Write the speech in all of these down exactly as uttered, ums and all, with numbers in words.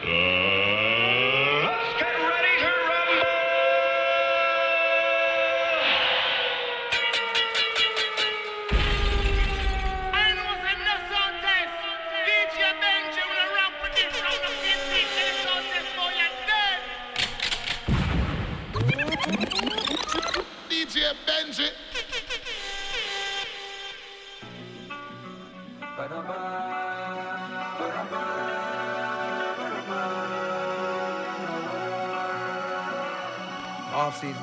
Off season.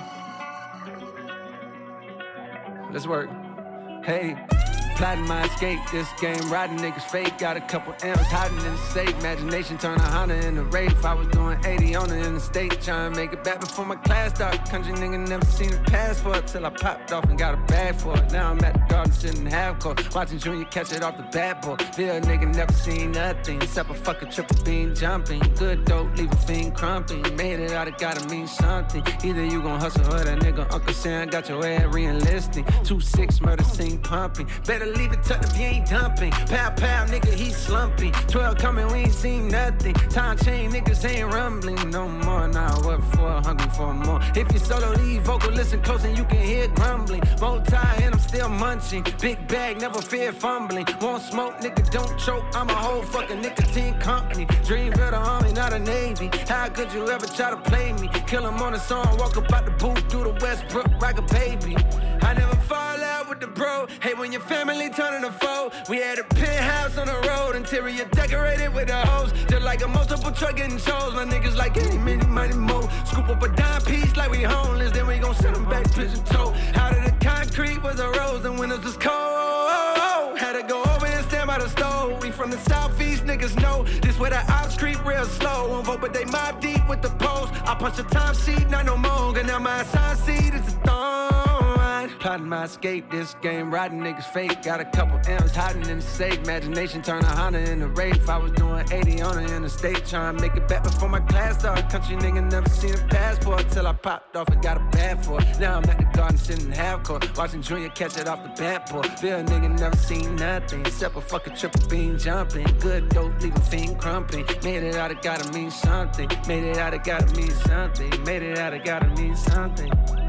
Let's work. Hey, plotting my escape. This game, riding niggas fake. Got a couple M's hiding in the safe. Imagination turn a Honda into Wraith. I was doing eighty on the interstate, trying to make it back before my class started. Country nigga never seen a passport till I popped off and got a bag for it. Now I'm at the garden sitting half court, watching Junior catch it off the bat board. Bill nigga never seen nothing except a fucking triple beam jumping. Good dope, leave a fiend crumping. Made it out, it gotta mean something. Either you gon' hustle or that nigga Uncle Sam got your ass re-enlisting. Two six murder scene pumping. Better leave it tucked if you ain't dumping. Pow pow, nigga, he slumping. Twelve coming, we ain't seen nothing. Time chain, niggas ain't rumbling no more. Now what for? Hungry for more. If you solo lead vocal, listen close and you can hear grumbling. Multi and I'm still munching. Big bag, never fear fumbling. Won't smoke, nigga, don't choke. I'm a whole fucking nicotine company. Dream builder, army, not a navy. How could you ever try to play me? Kill him on a song, walk up out the booth through the Westbrook like a baby. I never fall out with the bro. Hey, when your family turning a foe. We had a penthouse on the road, interior decorated with a hose. Just like a multiple truck getting shows. My niggas like any, many, money, more. Scoop up a dime piece like we homeless, then we gon' send them back pigeon toe. Out of the concrete was a rose, and windows was cold. Had to go over and stand by the stove. We from the southeast, niggas know this where the ops creep real slow. Won't vote, but they mob deep with the post. I punch the time sheet, not no more. And now my assigned seat is a thorn. Plotting my escape, this game, riding niggas fake. Got a couple M's hiding in the safe. Imagination turn a Honda into Wraith. I was doing eighty on the interstate, trying to make it back before my class started. Country nigga never seen a passport till I popped off and got a bag for it. Now I'm at the garden sitting half court, watching Junior catch it off the bat board. Bill nigga never seen nothing except a fucking triple beam jumping. Good dope, leave a fiend crumping. Made it out, it gotta mean something. Made it out, it gotta mean something. Made it out, it gotta mean something.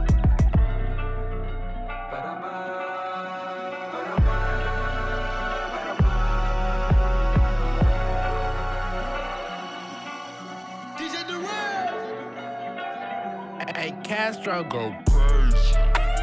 Hey, Castro, go crazy.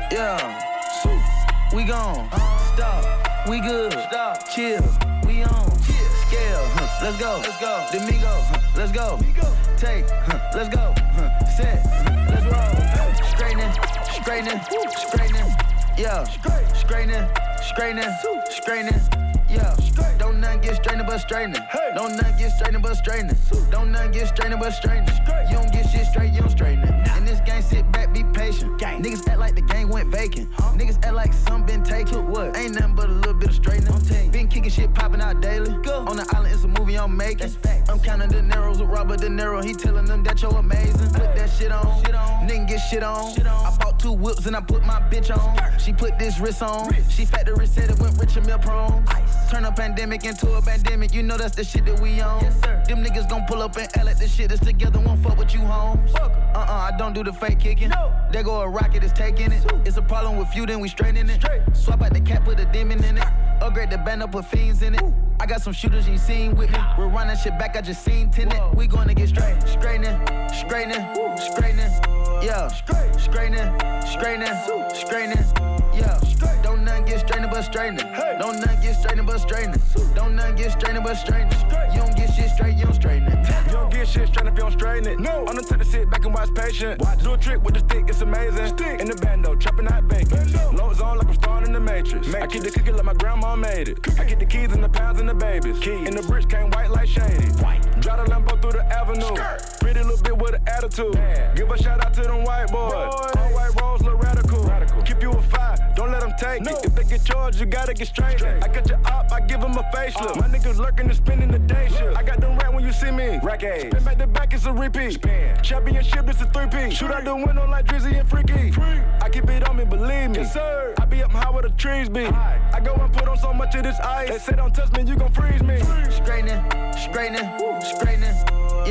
Yeah, so we gone. Stop, we good. Stop, chill, we on. Scale, huh, let's go. Let's go. Domingo, huh, let's go. Take, huh, let's go. Huh, set, huh, let's roll. Straightening, straightening, straightening. Yeah, straightening, straightening, straightening. Yeah, don't nothing get straightening but straightening. Don't nothing get straightening but straightening. Don't nothing get straightening but straightening. You don't get shit straight, you don't straighten it. In this game, sit back, be patient. Niggas act like the game went vacant. Niggas act like some been taken. What? Ain't nothing but a little bit of straightening. Been kicking shit popping out daily. On the island, it's a movie I'm making. I'm counting the Neros with Robert De Niro. He telling them that you're amazing. Put that shit on. Nigga get shit on. I bought two whips and I put my bitch on. She put this wrist on. She factory said it went rich and meal prone. Turn a pandemic into a pandemic, you know that's the shit that we on. Yes, sir. Them niggas gon' pull up and act like this shit is together, won't fuck with you, homes. Uh-uh, I don't do the fake kicking. No. There go a rocket, is taking it. It's a problem with you, then we straightening it. Straight. Swap out the cap, put a demon in it. Upgrade the band up, put fiends in it. Ooh. I got some shooters you seen with me. We're running shit back, I just seen tenant. We gonna get straight. Straightening, straightening, straightening. Yeah, straightening, straightening, straightening. Yeah, don't nothing get straightening but straightening. Don't nothing get straightening but straightening. Don't nothing get straightening but straightening. You don't get shit straight, you don't straighten it. You don't get shit straight if you don't straighten it. No. I'm the type to sit back and watch patient. Watch. Do a trick with the stick, it's amazing. Stick. In the bando, chopping out bacon. Loads on like I'm starring in the Matrix. Matrix. I keep the cookie like my grandma made it. Cookie. I get the keys and the pounds and the babies. Keys. And the bricks came white like shady. White. Drive the Lambo through the avenue. Skirt. Pretty little bit with an attitude. Man. Give a shout out to them white boys. boys. All white rolls look radical. radical. Keep you a fire, don't let them take no. it. If they get charged, you gotta get straight. straight. I got your op, I give them a facelift. Uh. My niggas lurking and spending the day shift. I got them rat when you see me. Rack A's. Spin back to back, it's a repeat. Spin. Championship, it's a three-piece. Shoot out the window like Drizzy and Freaky. Free. I keep it on me, believe me. Yes, sir. I be up high where the trees be. Aye. I go and put on so much of this ice. They say don't touch me, you gon' freeze me. Straightening, straightening, straightening. Yeah,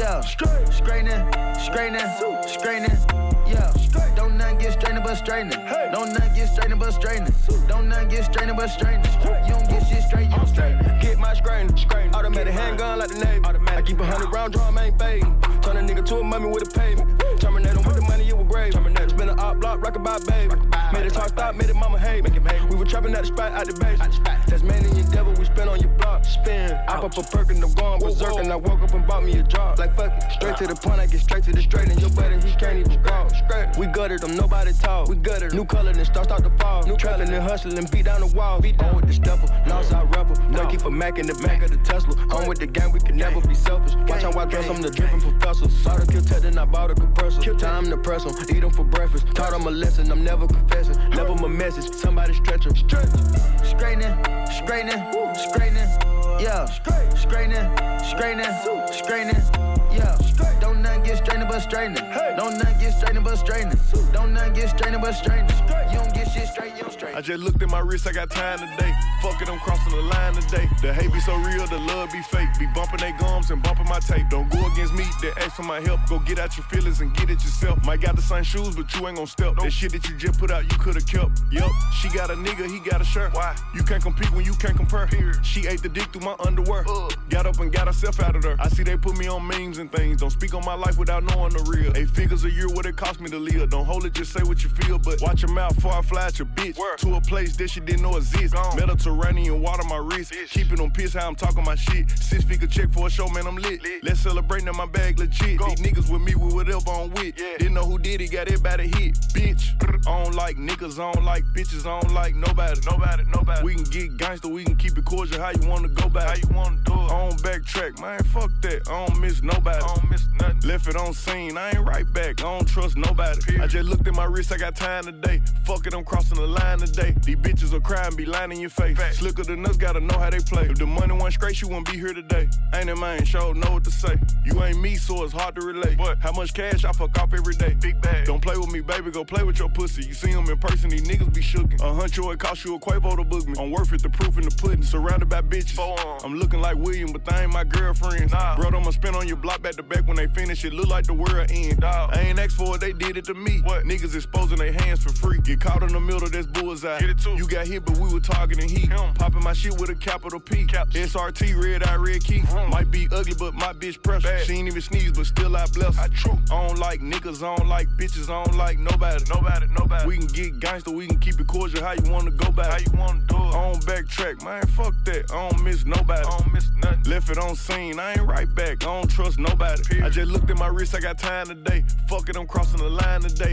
Yeah, straightening, straightening, straightening. Yeah, don't nothing get straightening but straightening. Don't nothing get straightening but straightening. Don't nothing get straightening but straightening. You don't get shit straight, you don't straighten. Get my straightening, straightening. Automatic handgun like the Navy. I keep a hundred round drum, ain't fading. Turn a nigga to a mummy with a pavement. Terminate him with the money, you were grave. Spin an op block, rock about baby. Made it talk stop, made it mama hate. We were trapping at the spot, out the base. Tasmanian devil, we spin on your block. Spin. I pop a perk and I'm going berserk. And I woke up and bought me a job. Like fuck it, straight to the point, I get straight to the straight. And your buddy, he can't even walk. We gutted them, nobody talk. We gutted new color, then start start to fall. New trapping and hustling, beat down the wall. Beat on with the stepper, Northside rebel. Nucky for Mac in the back of the Tesla. On with the gang, we can never be selfish. Watch how I dress, I'm the dripping professor. Saw the kill tech, then I bought a compressor. Time to press them, eat them for breakfast. Taught them a lesson, I'm never confessing. Never my message, somebody stretch them. Straightening, straightening, straightening. Yeah, straightening, straightening, straightening. Yeah, don't nothing get straightening but straightening. Don't nothing get straightening but straightening. Don't nothing get straightening but straightening. You don't get shit straight, you don't straighten. I just looked at my wrist, I got time today. Fuck it, I'm crossing the line today. The hate be so real, the love be fake. Be bumping they gums and bumping my tape. Don't go against me, they ask for my help. Go get out your feelings and get it yourself. Might got the same shoes, but you ain't gon' step. That shit that you just put out, you could've kept. Yup, she got a nigga, he got a shirt. Why? You can't compete when you can't compare. Period. She ate the dick through my underwear. Uh. Got up and got herself out of there. I see they put me on memes and things. Don't speak on my life without knowing the real. Eight figures a year, what it cost me to live. Don't hold it, just say what you feel. But watch your mouth before I fly at your bitch. Word. To a place that she didn't know exist. Gone. Mediterranean water my wrist. Bitch. Keeping on piss how I'm talking my shit. Six figure check for a show, man, I'm lit. lit. Let's celebrate now, my bag legit. Go. These niggas with me with whatever I'm with. Yeah. Didn't know who did it, got everybody hit. Bitch, I don't like niggas, I don't like bitches, I don't like nobody. Nobody, nobody. We can get gangster, we can keep it cordial. How you wanna go back? How you wanna do it? I don't backtrack, man, fuck that. I don't miss nobody. I don't miss nothing. Left it on scene, I ain't right back. I don't trust nobody. Period. I just looked at my wrist, I got time today. Fuck it, I'm crossing the line today. These bitches will cry and be lying in your face. Fact. Slicker than us, gotta know how they play. If the money wasn't straight, you wouldn't be here today. Ain't it, man? Sure know what to say. You ain't me, so it's hard to relate. What? How much cash I fuck off every day? Big bag. Don't play with me, baby, go play with your pussy. You see them in person, these niggas be shookin'. A huncho, it cost you a Quavo to book me. I'm worth it, the proof in the pudding. Surrounded by bitches. I'm looking like William, but they ain't my girlfriends. Nah. Bro, I'ma spin on your block back to back when they finish. It look like the world end. Dog. I ain't asked for it, they did it to me. What? Niggas exposing their hands for free. Get caught in the middle, that's bullseye. Get it too. You got hit, but we were targeting heat. Him. Popping my shit with a capital P. Caps. S R T, red eye, red key. Mm. Might be ugly, but my bitch precious. She ain't even sneeze, but still I bless her. I true. I don't like niggas, I don't like bitches, I don't like nobody. Nobody, nobody. We can get gangster, we can keep it cordial. How you wanna go back? How you wanna do it? I don't backtrack, man, fuck that. I don't miss nobody. I don't miss nothing. Left it on scene, I ain't right back. I don't trust nobody. Period. I just looked at my wrist, I got time today. Fuck it, I'm crossing the line today.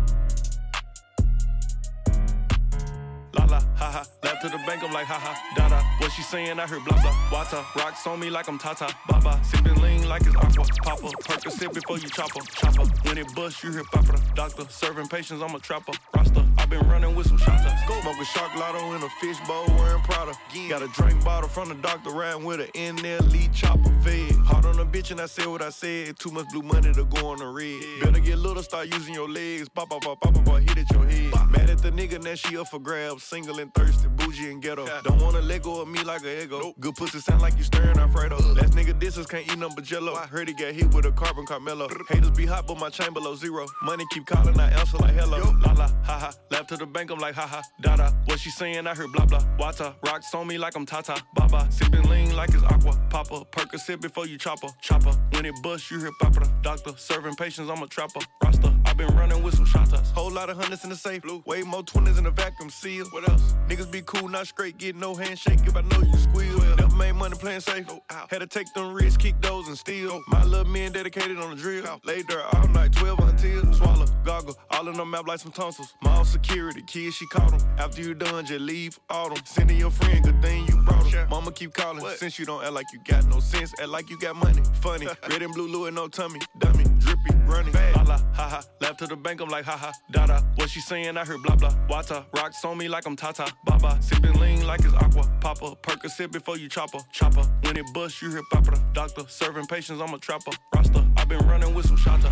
La la, ha ha, left to the bank, I'm like ha ha, da da. What she saying, I heard blah blah. Water, rocks on me like I'm Tata, baba. Sippin' lean like it's aqua, papa. Percocet before you chopper, chopper. When it bust, you hear papa. Doctor, serving patients, I'm a trapper. Roster, I been running with some shots. Smoking shark lotto in a fishbowl, wearing Prada. Got a drink bottle from the doctor, riding with an N L E chopper fed. Hard on a bitch and I said what I said. Too much blue money to go on the red. Better get little, start using your legs. Pop, pop, pop, pop, pop, hit at your head. Mad at the nigga, now she up for grabs. Single and thirsty, bougie and ghetto. Don't wanna let go of me like a ego. Nope. Good pussy sound like you stirring Alfredo. Last nigga disses can't eat nothing but jello. I heard he got hit with a carbon Carmelo. Haters be hot, but my chain below zero. Money keep calling, I answer like hello. Yo. La la, ha ha. Left to the bank, I'm like ha ha, da da. What she saying, I heard blah blah. Water, rocks on me like I'm Tata, baba. Sippin' lean like it's aqua, papa. Percocet before you chopper, chopper. When it bust, you hear papa. Doctor, serving patients, I'm a trapper. Roster, I been running with some shotters. Whole lot of hundreds in the safe, blue. Way more twenties in the vacuum seal. What else? Niggas be cool, not straight, get no handshake if I know you squeal. Well, never made money playing safe. No, had to take them risks, kick those and steal. My little men dedicated on the drill. Laid there all night, twelve until swallow, goggle, all in the map like some tonsils. Mall security, kids, she caught them. After you done, just leave all them. Sending your friend, good thing you brought them. Mama keep calling, what? Since you don't act like you got no sense, act like you got money. Funny, red and blue, Louis, no tummy. Dummy, drippy, running. La la, ha ha, left to the bank, I'm like ha ha, da da. What she saying, I heard blah blah. Water, rocks on me like I'm Tata, baba. Sippin' lean like it's aqua, papa. Percocet before you chopper, chopper. When it bust, you hear papa. Doctor, serving patients, I'm a trapper. Roster, I been running with some shotters.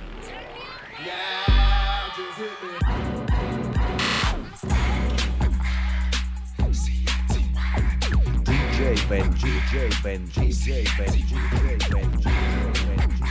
Yeah, just hit me. D J Benji, D J Benji, D J Benji, D J Benji, D J Benji.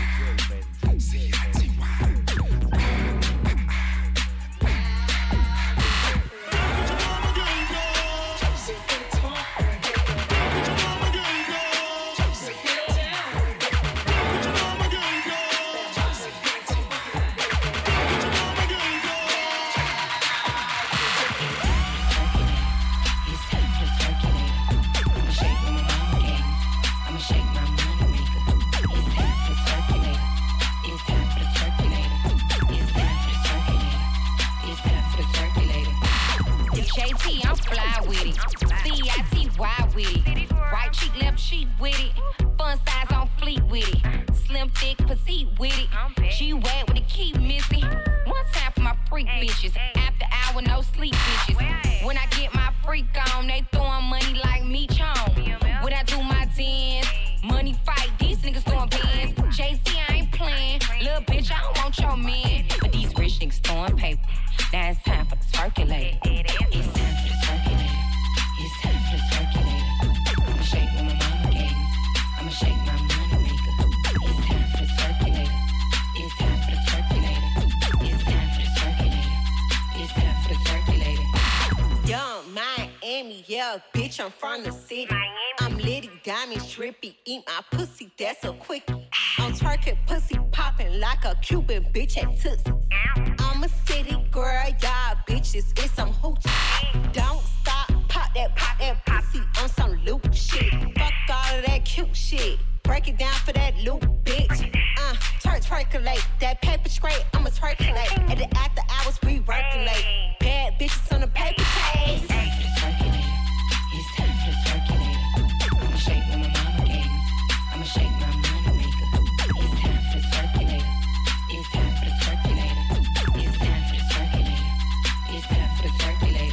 I'ma shake my money maker. It's time for the circulator. It's time for the circulator. It's time for the circulator. It's time for the circulator. J T, I'm fly with it. C I T Y with it. Right cheek, left cheek with it. Fun size on fleet with it. Slim, thick, petite with it. G-Wag with the key missing. One time for my freak bitches. After hour, no sleep bitches. When I get my freak on, they throwing money like me chon. When I do my dance, money fight, these niggas throwing pins. J-C, I ain't playing. Little bitch, I don't want your man. But these rich niggas throwing paper. Now it's time for the circulator. It's time for the circulator. It's time for the circulator. I'ma shake what my mama gave me. I'ma shake my money maker. It's time for the circulator. It's time for the circulator. It's time for the circulator. It's time for the circulator. Young Miami, yeah, bitch, I'm from the city. I'm litty, diamond, trippy, eat my pussy, that's a quickie. I'm twerking, pussy popping like a Cuban bitch at Tootsie. I'm a city girl, y'all bitches, it's some hoochie. Don't stop, pop that, pop that pussy on some loop shit. Fuck all of that cute shit. Break it down for that loop, bitch. Uh, twerk, twerkulate. That paper straight, I'ma twerkulate. At the after hours, we working late. Bad bitches on the paper chase. It's time for the circulator. It's time for the circulator. I'ma shake what my mama gave me. I'ma shake my money maker. It's time for the circulator. It's time for the circulator. It's time for the circulator. It's time for the circulator.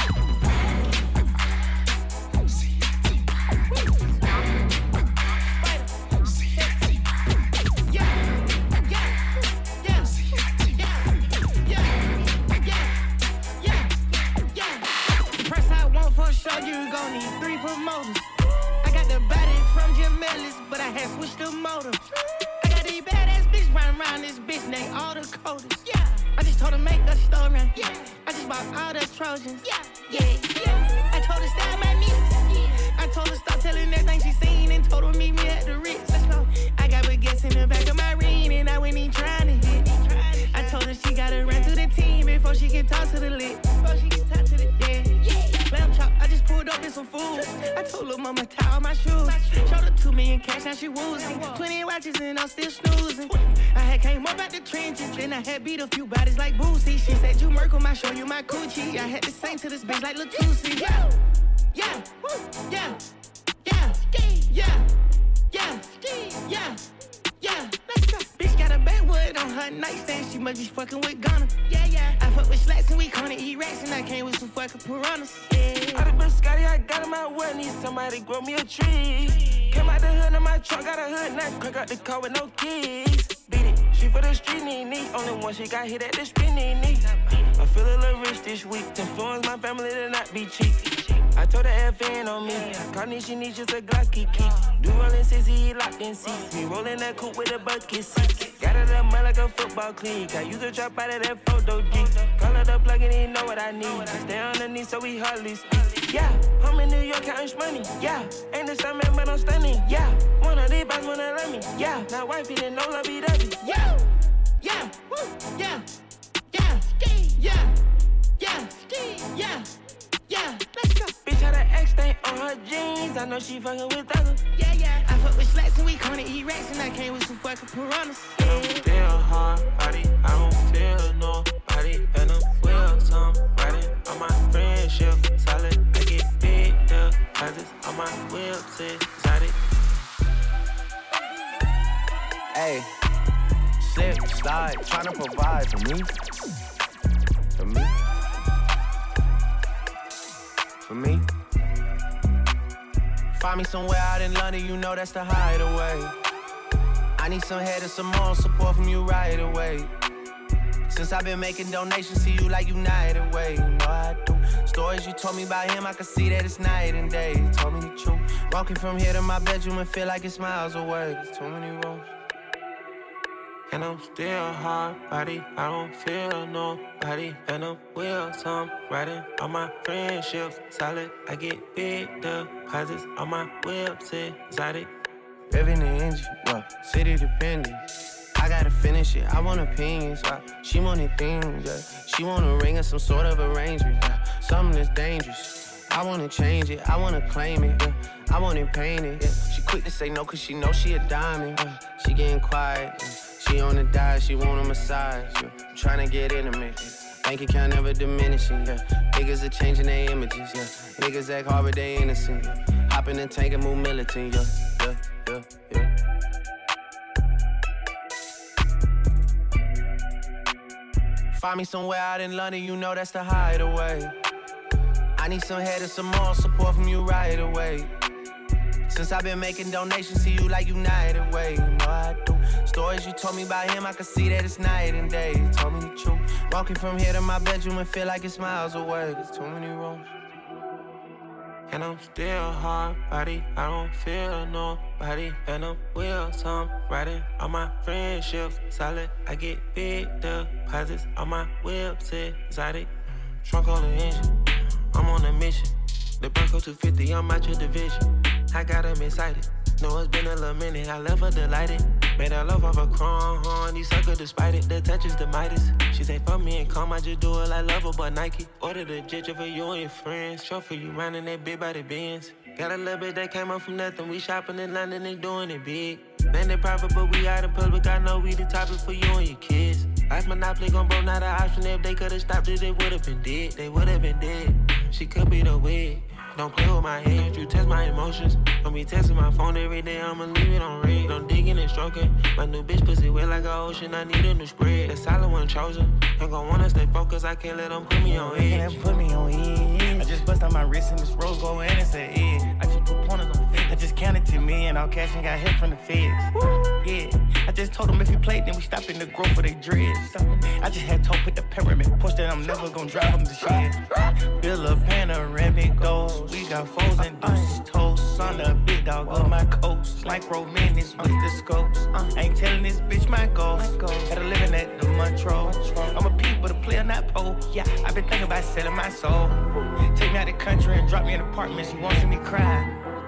Show you gon' need three promoters. I got the body from Jim Ellis, but I had switched the motor. I got these badass bitch riding around this bitch named all the coders. Yeah, I just told her make a story. Yeah, I just bought all the Trojans. Yeah, yeah, yeah. I told her style my music. Yeah, I told her stop telling everything she seen and told her meet me at the Ritz. Let's go. I got baguettes in the back of my ring and I went in trying to hit. I told her she gotta run through the team before she can talk to the lit. Before she can talk to the yeah, yeah. Lamb chop, I just pulled up in some food. I told little mama tie all my shoes. Showed her two million cash, now she woozy. Twenty watches and I'm still snoozing. I had came up out the trenches, then I had beat a few bodies like Boosie. She said you Merkle, I show you my coochie. I had to sing to this bitch like Latusi. Yeah, yeah, yeah, yeah, yeah, yeah, yeah. Yeah, let's go. Bitch got a backwood on her nightstand. She must be fucking with Ghana. Yeah, yeah. I fuck with slats and we gonna eat rats. And I came with some fucking piranhas. Yeah. I done been Scotty, I got in my way. Need somebody grow me a tree. Came out the hood in my truck, got a hood nut. Crack out the car with no keys. Beat it, she for the street, knee, knee. Only one she got hit at the spin, knee, knee. I feel a little rich this week. Influence my family to not be cheap. I told her F N on me. Carnation needs just a Glocky key. Do rollin' sixty, locked in seats. Me rollin' that coupe with a bucket seat. Got it up mud like a football cleat. I use a trap out of that photo G. Call it up plug and he know what I need. I stay underneath so we hardly speak. Yeah, I'm in New York counting money. Yeah, ain't the same man but I'm stunning. Yeah, one of these boys wanna love me. Yeah, now wifey didn't know lovey-dovey. Yeah, yeah, woo, yeah, yeah, yeah, yeah, yeah. Yeah, let's go. Bitch had an X stain on her jeans. I know she fucking with others. Yeah, yeah. I fuck with slats and we gonna eat rats. And I came with some fucking piranhas. Yeah. I don't feel hard body. I don't feel nobody. And I'm with some riding on my friendship. Solid. I get big deposits on my whips. Exotic. Hey, slip, slide, tryna provide for me. For me. For me. Find me somewhere out in London, you know that's the hideaway. I need some head and some moral support from you right away. Since I've been making donations to you like United Way, you know I do. Stories you told me about him, I can see that it's night and day. You told me the truth. Walking from here to my bedroom and feel like it's miles away. There's too many roads. And I'm still hard body, I don't feel nobody. And I'm with some riding on my friendships. Solid, I get big deposits on my whips. Exotic. Revving the engine, well, city dependent. I gotta finish it, I want opinions. Uh, she wanted things, yeah. She want a ring or some sort of arrangement. Yeah. Something that's dangerous. I wanna change it, I wanna claim it. Yeah. I want it painted. Yeah. She quick to say no, cause she know she a diamond. Uh, she getting quiet. Uh, she on the diet, she want a massage. Yeah. I'm tryna get intimate. Yeah. Bank account never diminishing. Yeah. Niggas are changing their images. Yeah. Niggas act hard, but they innocent. Yeah. Hop in the tank and move militant. Yeah, yeah, yeah, yeah. Find me somewhere out in London, you know that's the hideaway. I need some head and some moral support from you right away. Since I've been making donations to you like United Way, you know I do. Stories you told me about him, I can see that it's night and day. You told me the truth. Walking from here to my bedroom and feel like it's miles away. There's too many rooms. And I'm still hard body, I don't feel nobody. And I'm wheels, I'm riding all my friendships solid. I get big deposits, all my whips exotic. Trunk on the engine, I'm on a mission. The Bronco two fifty, I'm out your division. I got him excited, know it's been a little minute. I left her delighted, made her love off a chrome horn. These suckers despite it, the touch is the Midas. She say fuck me and calm, I just do it like love her, but Nike. Ordered a jet for you and your friends. Show for you riding that big body Benz. Got a little bit that came up from nothing. We shopping in London and doing it big. Landed private, but we out in public. I know we the topic for you and your kids. Life Monopoly gon' broke, not an option. If they could've stopped it, they would've been dead. They would've been dead. She could be the wig. Don't play with my head, you test my emotions. Don't be testing my phone every day, I'ma leave it on red. Don't digging and stroking. My new bitch pussy wet like an ocean, I need a new spread. The solid one chosen. Ain't gon' wanna stay focused, I can't let them put me on edge. Put me on edge. I just bust out my wrist and this rose gold and it's an edge. I just put pointers on feds. I just counted to me and all cash and got hit from the feds. Woo. Yeah, I just told them if we played, then we stop in the growth for they dreads. I just had told put the pyramid push that I'm never gon' drive them to shit. Build a panoramic goals. We got foes and deuces toast. On the big dog of my coast. Like romantics with the scopes. Uh, ain't telling this bitch my goals. Had a living at the Montreux. I'm a peep but a player, not pole. Yeah, I've been thinking about selling my soul. Take me out the country and drop me in apartments. You won't see me cry.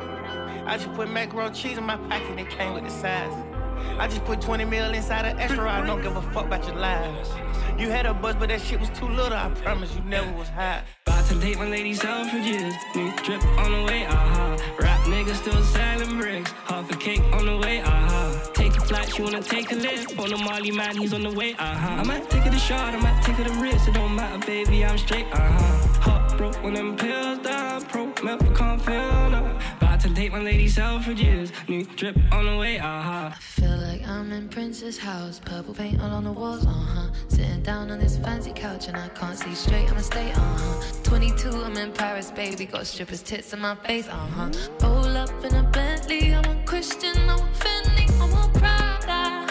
I just put macaroni cheese in my pocket. It came with the size. I just put twenty mil inside an extra. I don't give a fuck about your lives. You had a buzz, but that shit was too little. I promise you never was high. About to date my lady Selfridges. New drip on the way, aha. Uh-huh. Rap niggas still selling bricks. Half a cake on the way, aha. Uh-huh. Take a flight, she wanna take a lift. On the Molly man, he's on the way, aha. Uh-huh. I might take her the shot, I might take her the wrist. It don't matter, baby, I'm straight, aha. Uh-huh. Hot broke when them pills down. Pro, milk, can't feel no. About to date my lady Selfridges. New drip on the way, aha. Uh-huh. I feel like I'm in Prince's house. Purple paint all on the walls, uh-huh. Sitting down on this fancy couch and I can't see straight, I'ma stay, uh-huh. twenty-two, I'm in Paris, baby. Got strippers' tits in my face, uh-huh. Roll up in a Bentley, I'm a Christian, I'm a Fendi, I'm a Prada.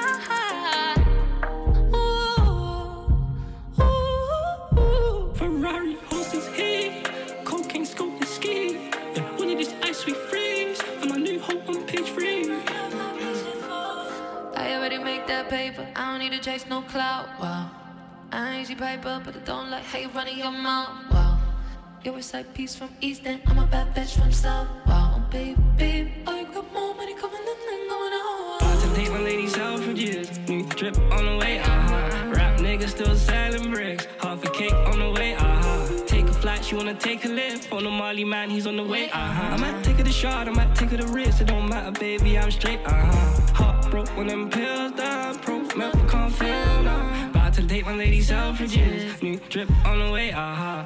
Ooh, ooh, ooh. Ferrari, horses here. Cocaine, scope, and ski. Yeah, when you this ice, we freeze. And my new hoe on page three. I already make that paper, I don't need to chase no clout, wow. I ain't see paper, but I don't like how you running your mouth, wow. You're a side piece from East End, I'm a bad bitch from South, wow. Baby, baby, I got more money coming in than going out. About to date my lady Selfridges. New drip on the way, uh-huh. Rap niggas still selling bricks. Half a cake on the way, uh-huh. Take a flight, she wanna take a lift. On the Molly man, he's on the way, uh-huh. I might take her the shot, I might take her the wrist. It don't matter, baby, I'm straight, uh-huh. Hot broke when them pills down. Pro, milk, can't feel no. About to date my lady Selfridges. New drip on the way, uh-huh.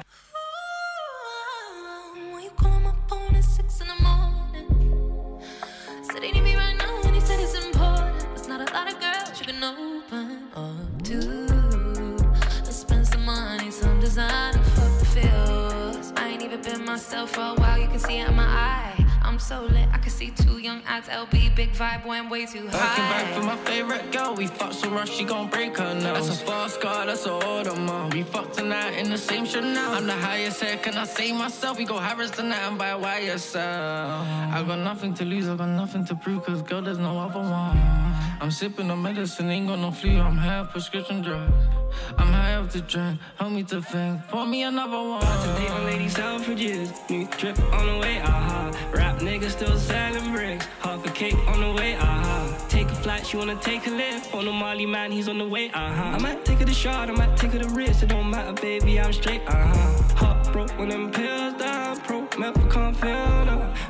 When you call my phone at six in the morning, said they need me right now and he said it's important. There's not a lot of girls you can open up to. I spend some money, some designer, fuck the feels. I ain't even been myself for a while, you can see it in my eye. I'm so lit, I can see two young ads, L B, big vibe, went way too high. Looking back for my favorite girl, we fucked so much she gon' break her nose. That's a fast car, that's a Audemars. We fucked tonight in the same Chanel. I'm the highest head, can I say myself? We go Harris tonight and buy Y S L. I got nothing to lose, I got nothing to prove, cause girl, there's no other one. I'm sipping on medicine, ain't got no flu, I'm high up prescription drugs. I'm high up to drink, help me to think, pour me another one. About to date my lady Selfridges. New drip on the way, aha. Uh-huh. Rap niggas still selling bricks. Half a cake on the way, uh-huh. Take a flight, she wanna take a lift. On the Molly man, he's on the way, uh-huh. I might take her the shot, I might take her the wrist. It don't matter, baby, I'm straight, uh-huh. Hot broke when them pills down. Pro, milk, can't feel no. About to date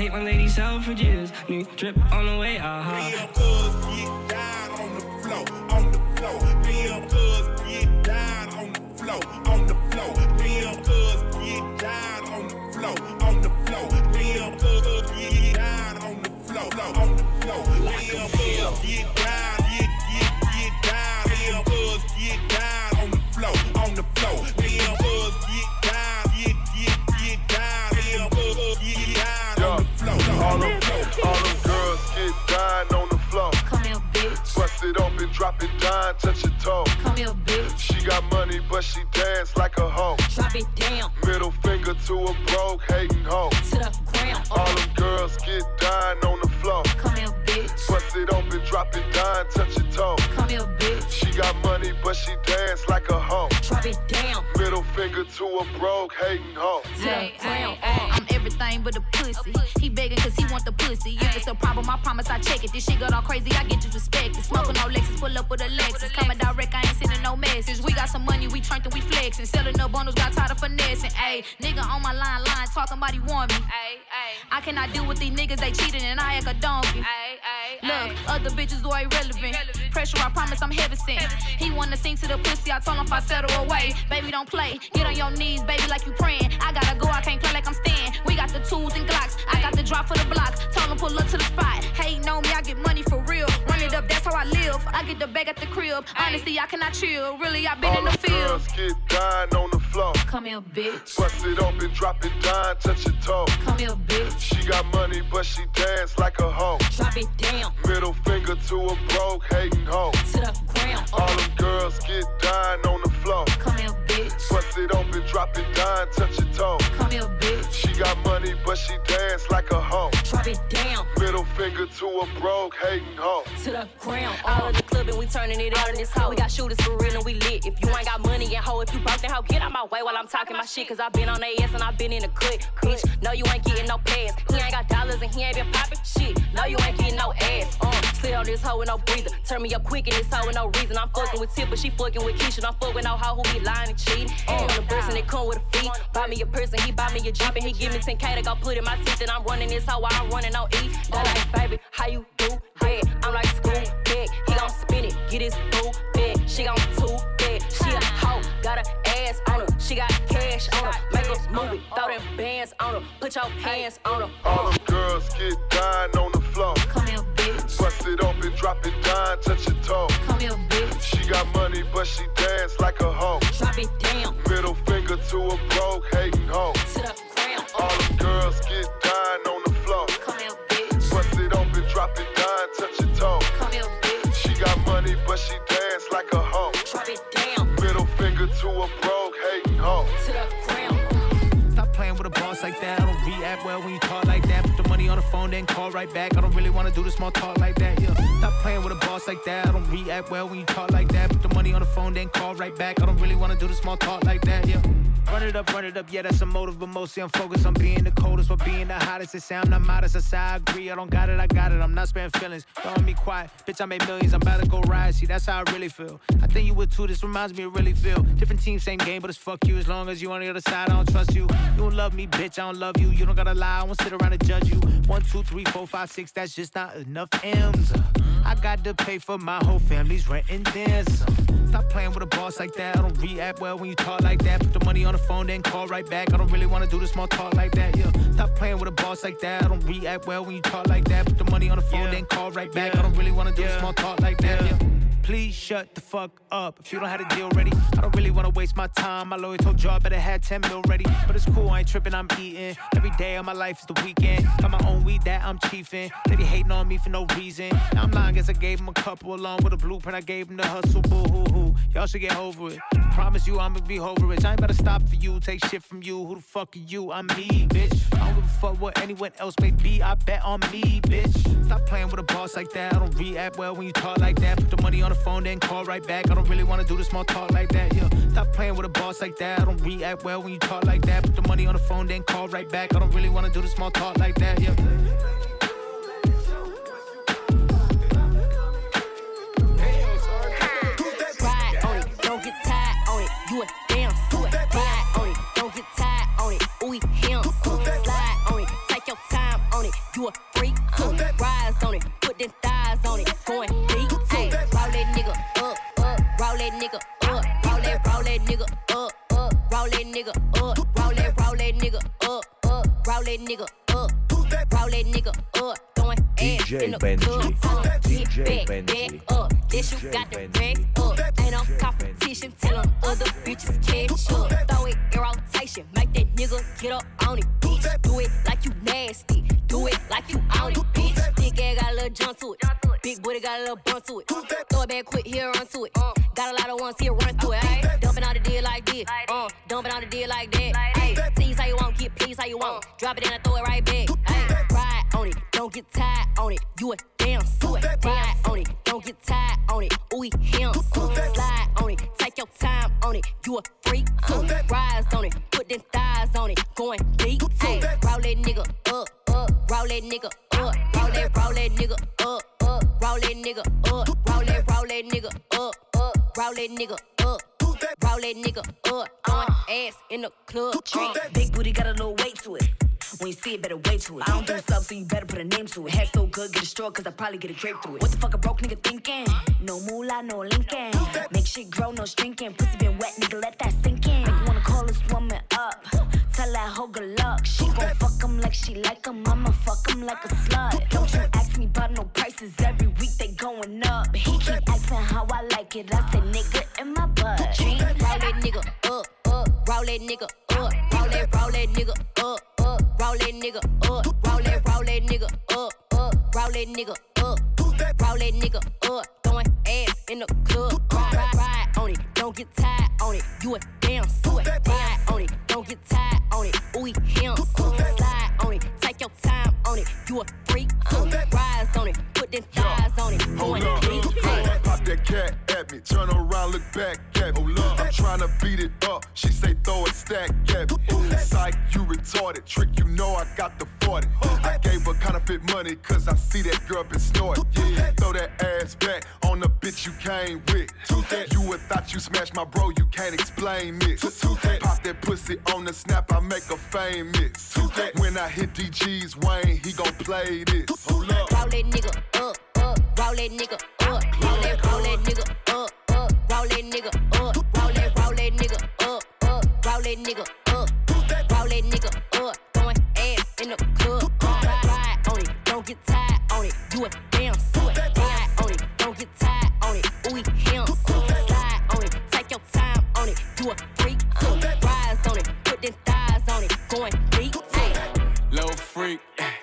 take my lady suffrages. New drip on the way, aha. Me and cuz get down on the floor, on the floor. Me and cuz get down on the floor, on the floor. Me and cuz get down on the floor, on the floor. Me and cuz get down on the floor, on the floor. Me and cuz get down, get get get down. Me and cuz get down on the floor, on the floor. Me and cuz get down, get get get down. Me and cuz get down on the floor, all them, all them girls get down on the floor. Come here, bitch. Bust it open, drop it down, touch your toe. Come here, bitch. She got money, but she dance like a hoe. Drop it down. Middle finger to a broke, hating hoe. To the ground. All them girls get down on the floor. Come here, bitch. Bust it open, drop it down, touch your toe. Come here, bitch. She got money, but she dance like a hoe. Drop it down. Middle finger to a broke, hating hoe. To the ground. I'm everything but a pussy. He begging cause he want the pussy. If it's a problem, I promise I check it. This shit got all crazy, I get disrespected. Smoking on Lexus, pull up with a Lexus. Coming direct, I ain't sending no message. We got some money, we turned and we flexing. Selling up bundles, got tired of finessing. Ayy, nigga on my line, line, talking about he want me. Ayy, ayy. I cannot deal with these niggas, they cheating and I act a donkey. Ayy, ayy. Look, other bitches are irrelevant. Pressure, I promise I'm heavy sent. He wanna sing to the pussy, I told him if I settle away. Baby, don't play. Get on your knees, baby, like you praying. I gotta go, I can't play like I'm staying. We got the tools and Glocks. I got the drop for the block. Told him pull up to the spot. Hating on me, I get money for real. Run it up, that's how I live. I get the bag at the crib. Honestly, I cannot chill. Really, I been all in the field. Girls get down on the floor. Come here, bitch. Bust it open, drop it down, touch your toe. Come here, bitch. She got money, but she dance like a hoe. Drop it down. Middle finger to a broke, hating hoe. To the ground. All them girls get down on the floor. Come here, bitch. Bust it open, drop it down, touch your toe. Come here, bitch. She got money, but she dance like a hoe. Drop it down. Middle finger to a broke, hating hoe. To the ground. All of the club and we turning it out in this hoe. We got shooters for real and we lit. If you ain't got money and hoe, if you broke then hoe, get out my way while I'm talking my shit. Cause I been on they ass and I been in the cut. Bitch, no you ain't getting no pass. He ain't got dollars and he ain't been popping shit. No you ain't getting no ass. Uh, slid on this hoe with no breather. Turn me up quick in this hoe with no reason. I'm fucking with Tip, but she fucking with Keisha. I'm fucking with no hoe who be lying and cheating. And on the person that come with a fee. Buy me a person, he buy me a Jeep and he give me ten K to go put in my teeth. And I'm running this hoe while I'm running on E. They're like, baby, how you do that? I'm like school bag. He gon' spin it, get his boo bag. She gon' two bag. She a hoe, got her ass on her. She got cash on her. Make her move it, throw them bands on her. Put your hands on her. All them girls get down on the floor. Come here, bitch. Bust it open, drop it down, touch your toe. Come here, bitch. She got money, but she dance like a hoe. Drop it down. Middle finger to a broke, hating hoe. To the ground. All them girls get down on the floor. Come here, bitch. Bust it open, drop it down, touch your toe. Come here, bitch. She got money, but she dance like a hoe. Drop it down. Middle finger to a broke, hating hoe. To the ground. Stop playing with a boss like that. I don't react well when you talk like that. Put the money on the phone, then call right back. I don't really wanna do the small talk like that. Yeah. Stop playing with a boss like that. I don't react well when you talk like that. Put the money on the phone, then call right back. I don't really wanna do the small talk like that. Yeah. Run it up, run it up, yeah, that's a motive, but mostly I'm focused on being the coldest while being the hottest. It sound I'm modest, I say I agree, I don't got it, I got it, I'm not sparing feelings. Don't be quiet, bitch, I made millions, I'm about to go ride, see, that's how I really feel. I think you would too, this reminds me of really feel. Different team, same game, but it's fuck you, as long as you on the other side, I don't trust you. You don't love me, bitch, I don't love you, you don't gotta lie, I won't sit around and judge you. One, two, three, four, five, six, that's just not enough M's. I got to pay for my whole family's rent and then some. Stop playing with a boss like that. I don't react well when you talk like that. Put the money on the phone, then call right back. I don't really wanna do the small talk like that. Yeah. Stop playing with a boss like that. I don't react well when you talk like that. Put the money on the phone, yeah. then call right back. Yeah. I don't really wanna do yeah. the small talk like that. Yeah. Yeah. Please shut the fuck up. If you don't have a deal ready, I don't really wanna waste my time. My lawyer told you I better have ten mil ready. But it's cool, I ain't tripping, I'm eating. Every day of my life is the weekend. Got my own weed that I'm chiefing. They be hating on me for no reason. Now I'm lying, guess I gave him a couple along with a blueprint. I gave him the hustle, boo hoo hoo. Y'all should get over it. Promise you I'ma be over rich. I ain't about to stop for you, take shit from you. Who the fuck are you? I'm me, bitch. I don't give a fuck what anyone else may be. I bet on me, bitch. Stop playing with a boss like that. I don't react well when you talk like that. Put the money on the phone, then call right back. I don't really wanna do the small talk like that. Yeah. Stop playing with a boss like that. I don't react well when you talk like that. Put the money on the phone, then call right back. I don't really wanna do the small talk like that. Yeah. Ride on it, don't get tired on it. You a damn suit. Ride on it, don't get tired on it. Ooh, him. Slide on it, take your time on it. them thighs on it, going deep too. Roll that nigga up, up, roll that nigga up, roll that, roll that nigga up, up, roll that nigga up, roll that, roll that nigga up, up, roll that nigga up, roll that nigga up, throwing ass in the club. Tell them get back, back up. This you got the racks up. Ain't no competition, tell them other bitches catch up. Throw it in rotation, make that nigga get up on it, bitch. Do it like you nasty, do it like you on it, bitch. Big ass got a little jump to it, big booty got a little bump to it. Throw it back quick, here run to it. Got a lot of ones here run to it. Ay, dumping on the deal like this, uh, dumping on the deal like that. Ay, tease how you want, get please how you want. Drop it in and throw it right back. Ay, ride on it, don't get tired on it. You a damn suit. Ride on it, don't get tired on it. Ooh, him, slide on it, take your time on it. You a freak too. Rise on it, put them thighs on it, going deep too. Roll that nigga up, up, roll that nigga up, roll that, roll that nigga up, up, roll that nigga up, roll that, roll that nigga up, up, roll that nigga up. Roll that nigga up, throwing ass in the club. Uh, big booty got a little weight to it. When you see it, better wait to it. I don't do stuff, so you better put a name to it. Head so good, get a straw, cause I probably get a grape through it. What the fuck a broke nigga thinking? No moolah, no linking. Make shit grow, no shrinking. Pussy been wet, nigga, let that sink in. Make you wanna call this woman up. Tell that hoe good luck. She gon' fuck him like she like him. I'ma fuck him like a slut. Don't you ask me about no prices. Every week they going up. He keep asking how I like it. I say nigga in my butt. Roll that nigga up, up. Roll that nigga up. Roll that, roll that nigga up, up. Roll that nigga up. Roll that, roll that nigga up, up. Roll that nigga up. Roll that nigga up. Throwing ass in the club. Ride, ride, ride on it. Don't get tired on it. You a damn suit. Ride on it. Don't get tired on it. Ooh, him. Slide on it. Take your time on it. You a freak too. Rise on it. Put them thighs on it. Hold up, pop that cat at me. Turn around, look back at me. I'm tryna beat it up. She say throw a stack at me. Psych, you retarded. Trick, you know I got the forty. I gave her counterfeit money cause I see that girl been snorting. Yeah, throw that ass back on the bitch you came with. You would thought you smashed my bro, you can't explain this. Pop that pussy on the snap, I make her famous. When I hit D G's Wayne, he gon' play this. Hold up. Roll that nigga up, up. Roll that nigga up. Roll that, roll that nigga up, up. Roll that nigga up. Roll that, roll that nigga up, up. Roll that nigga up. Roll that nigga up. Throwing ass in the club. Ride, ride on it. Don't get tired on it. You a damn suit. Ride on it. Don't get tired on it. Ooh, him. Slide on it. Take your time on it. You a freak too. Rise on it. Put them thighs on it. Going deep too. Little freak,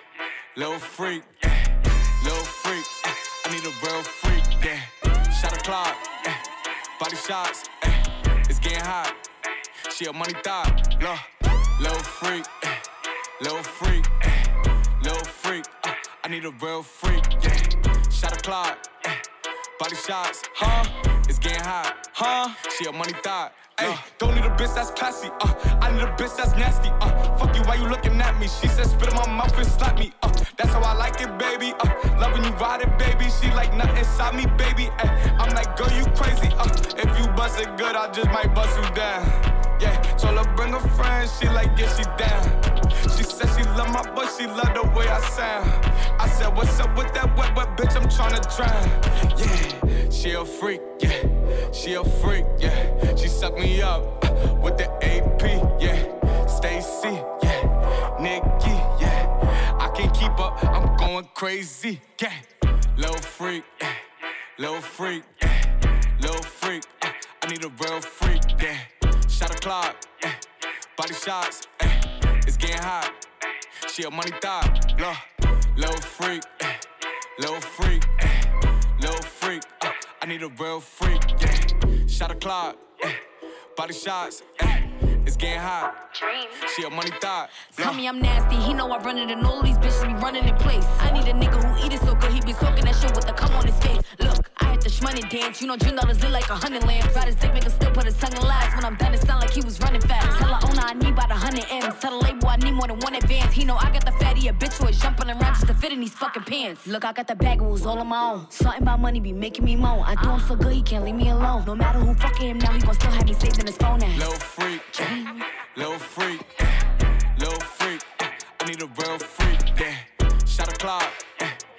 little freak, little freak. I need a real freak, yeah. Shot a clock, eh. Body shots, eh. It's getting hot. She a money thought, look. Little freak, eh. Little freak, eh. Little freak. Uh, I need a real freak, yeah. Shot a clock, eh. Body shots, huh? It's getting hot, huh? She a money thought. Ay, don't need a bitch that's classy, uh I need a bitch that's nasty, uh fuck you, why you looking at me? She said spit in my mouth and slap me, uh that's how I like it, baby, uh loving you ride it, baby. She like nothing inside me, baby, ay I'm like, girl, you crazy, uh if you bust it good, I just might bust you down. Yeah, told her bring a friend, she like, yeah, she down. She said she love my voice, she love the way I sound. I said, what's up with that wet, wet bitch, I'm tryna drown. Yeah, she a freak, yeah, she a freak, yeah. She suck me up uh, with the A P, yeah. Stacy, yeah, Nikki, yeah. I can't keep up, I'm going crazy, yeah. Little freak, yeah, little freak, yeah, little freak. Uh, I need a real freak, yeah. Shot a clock, eh. Body shots, eh. It's getting hot. She a money thought, look. Little freak, eh. Little freak, eh. Little freak, uh, I need a real freak, yeah. Shot a clock, eh. Body shots, eh. It's getting hot. She a money thought. Tell me I'm nasty, he know I run it and all these bitches be running in place. I need a nigga who eat it so good, he be talking that shit with the cum on his face. Look, I had the shmoney dance, you know Dream dollars lit like a hundred lamps. Ride his dick, make him still put his tongue in lies. When I'm done, it sound like he was running fast. Tell the owner I need about a hundred M's. Tell the label I need more than one advance. He know I got the fatty, a bitch who is jumping around just to fit in these fucking pants. Look, I got the bag rules all on my own. Something about money be making me moan. I do him so good, he can't leave me alone. No matter who fucking him now, he gon' still have me saved in his phone ass. Little freak, eh. Little freak, eh. Little freak, eh. I need a real freak, yeah. Shot a clock, eh. Body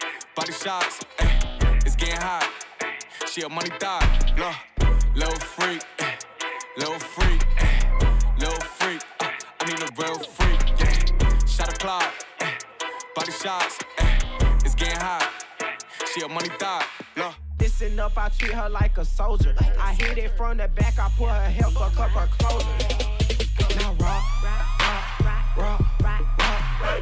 body shots, eh, it's getting hot. She a money thot, low, low freak, eh, low freak, eh, low freak. Uh, I need a real freak, yeah. Shot a clock, eh, body shots, eh, it's getting hot. She a money thot, low. Listen up, I treat her like a soldier. I hit it from the back, I put her hair, fuck up her clothes. Now rock, rock, rock, rock, rock, rock, rock,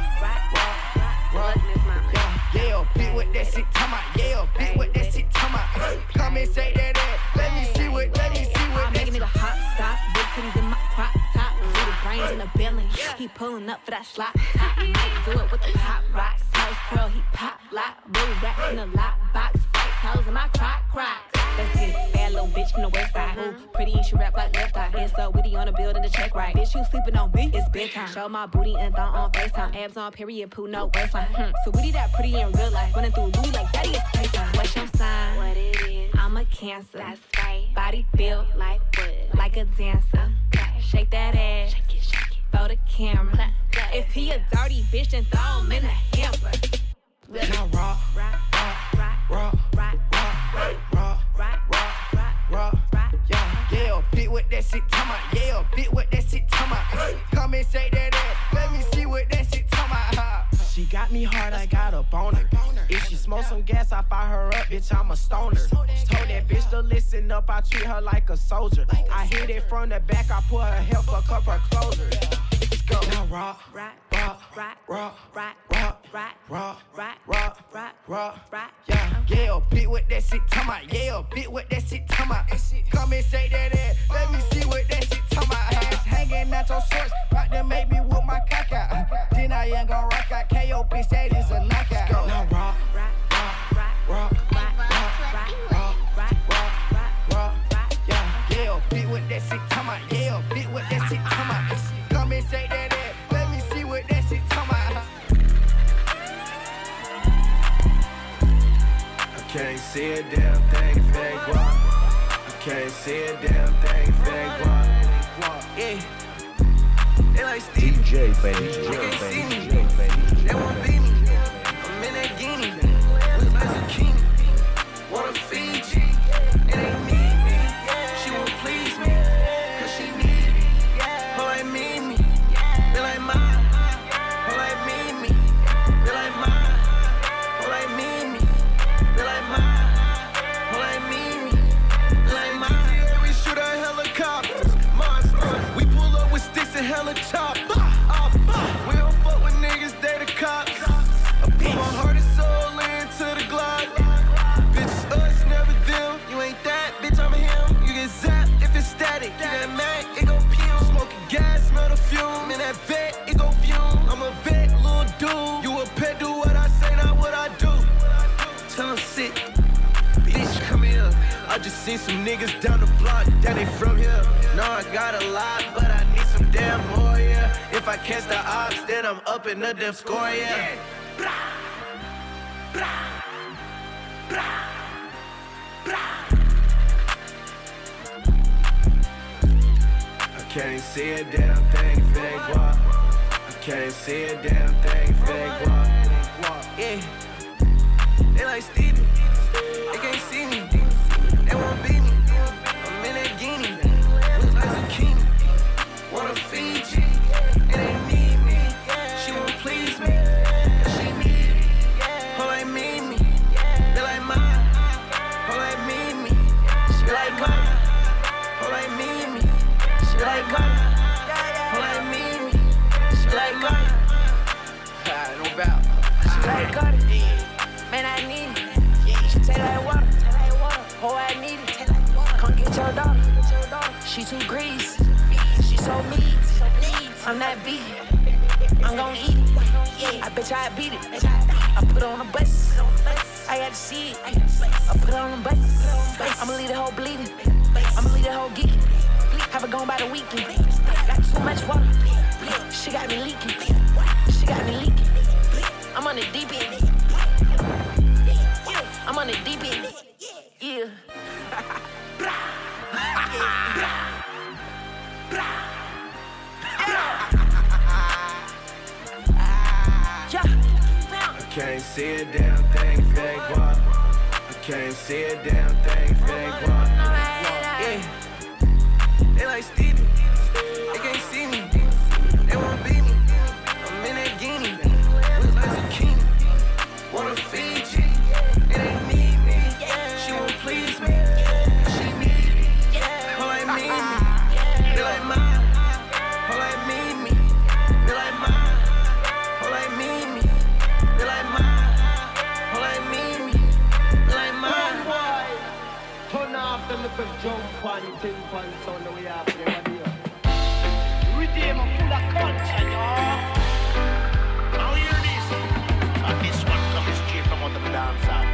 rock, rock. Yeah, bitch with that shit, come out. Yeah, bitch with that shit, come out. Come and say that ass. Let me see what, let me see what. I'm making it a hot stop. Big titties in my crop top. Little brains in the belly. He pulling up for that slot top. Might do it with the pop rocks. House curl, he pop lock. Blue racks in the lock box. Toes in my crock crocs. Let's get it. Bad little bitch from the west side. Ooh, pretty and she rap like left eye. And so witty on the building to check right. Bitch, you sleeping on me? It's bedtime. Show my booty and thong on FaceTime. Abs on period, poo, no waistline. Hmm. So witty that pretty in real life. Running through Louis like daddy is playtime. What's your sign? What it is? I'm a Cancer. That's right. Body built like wood. Like a dancer. Okay. Shake that ass. Shake it, shake it. Throw the camera. If he a dirty bitch, then throw him in the hamper. Now rock, rock, rock, rock, rock, rock, rock, rock, rock, rock, rock, yeah, yeah, bitch with that shit, come out, yeah, bitch with that shit, come out. Come and say that ass, let me see what that shit, come out. She got me hard, I got a boner. If she smoke some gas, I fire her up, bitch, I'm a stoner. Told that bitch to listen up, I treat her like a soldier. I hit it from the back, I put her hair, fuck up her clothes. Let's go. Now rock, rock, rock, rock, rock, rock, rock, rock, rock, rock, rock, rock, rock, rock, yeah, yeah, bitch with that shit, come out, yeah, bitch with that shit, come out. Come and say that ass, let me see what that shit, come out. Ass hanging out your shorts, about to make me whip my cock out. Then I ain't gon' rock out, K O bitch, that is a knockout. Now rock, rock, rock, rock, rock, rock, rock, rock, rock, rock, rock, rock, yeah, yeah, bitch with that shit, come out, yeah, bitch with that shit, come out. Come and say that ass, let me see what that shit, come out. I can't see a damn thing if they guap. I can't see a damn thing if they guap. Yeah, they like Steve. D J baby, they can't see me. They won't beat me. I'm in that guinea, look like zucchini. Wanna feed you, it ain't me. She won't please me, cause she need me. Her like me, me, they like mine. Her like me, me, they like mine. Her like me, me, they like mine. Her like me, me, they like mine. We shoot our helicopters, monsters. We pull up with sticks and helicopters. We don't fuck with niggas, they the cops. I put my heart and soul into the Glock. Bitch, us, never them. You ain't that, bitch, I'm him. You get zapped if it's static. You that Mac, it go fume. Smoking gas, smell the fume. In that vet, it go fume. I'm a vet, little dude. You a pet, do what I say, not what I do. Tell him sit. Bitch, come here. I just seen some niggas down the block, that ain't from here. No, I got a lot, but I need some damn more, yeah. If I catch the ops, then I'm up in the damn score, yeah. Bra, bra, bra, bra. I can't see a damn thing if they guap. I can't see a damn thing if they guap. Yeah, they like Stevie. They can't see me. They won't beat me. I'm in that guinea. Look like zucchini. Wanna feed you. It ain't need me. She won't please me. Cause she need me. Her like me, me. They like mine. Her like me, me. She like mine. Her like me, me. She like mine. Her like me, me. She like mine. No doubt. She like Cardi. Man, I need it. She take like water. Oh, I need it. Come get your daughter. She too greasy. She so meat. I'm not vegan. I'm gon' eat it. I bet you I beat it. I put on a bus. I got to see it. I put on a bus. I'ma leave the whole bleeding. I'ma leave the whole geeking. Have it gone by the weekend. Got too much water. She got me leaking. She got me leaking. I'm on the deep end. I'm on the deep end. Yeah. I can't see a damn thing can't see a damn thing if it ain't guap. Yeah. They like Stevie, they can't see me. They wanna beat me. I'm in that guinea, with like zucchini. Wanna feed you, it ain't need me. She won't please me, she need me. Her like me, me. They like mine. Her like me, me. They like mine. Her like me, me. They like mine. Her like me, me. They like mine. Turn off them little jump on tin pan sound the way after the radio. Redeem full of culture, y'all. Now hear this. And this one comes straight from under the dance hall.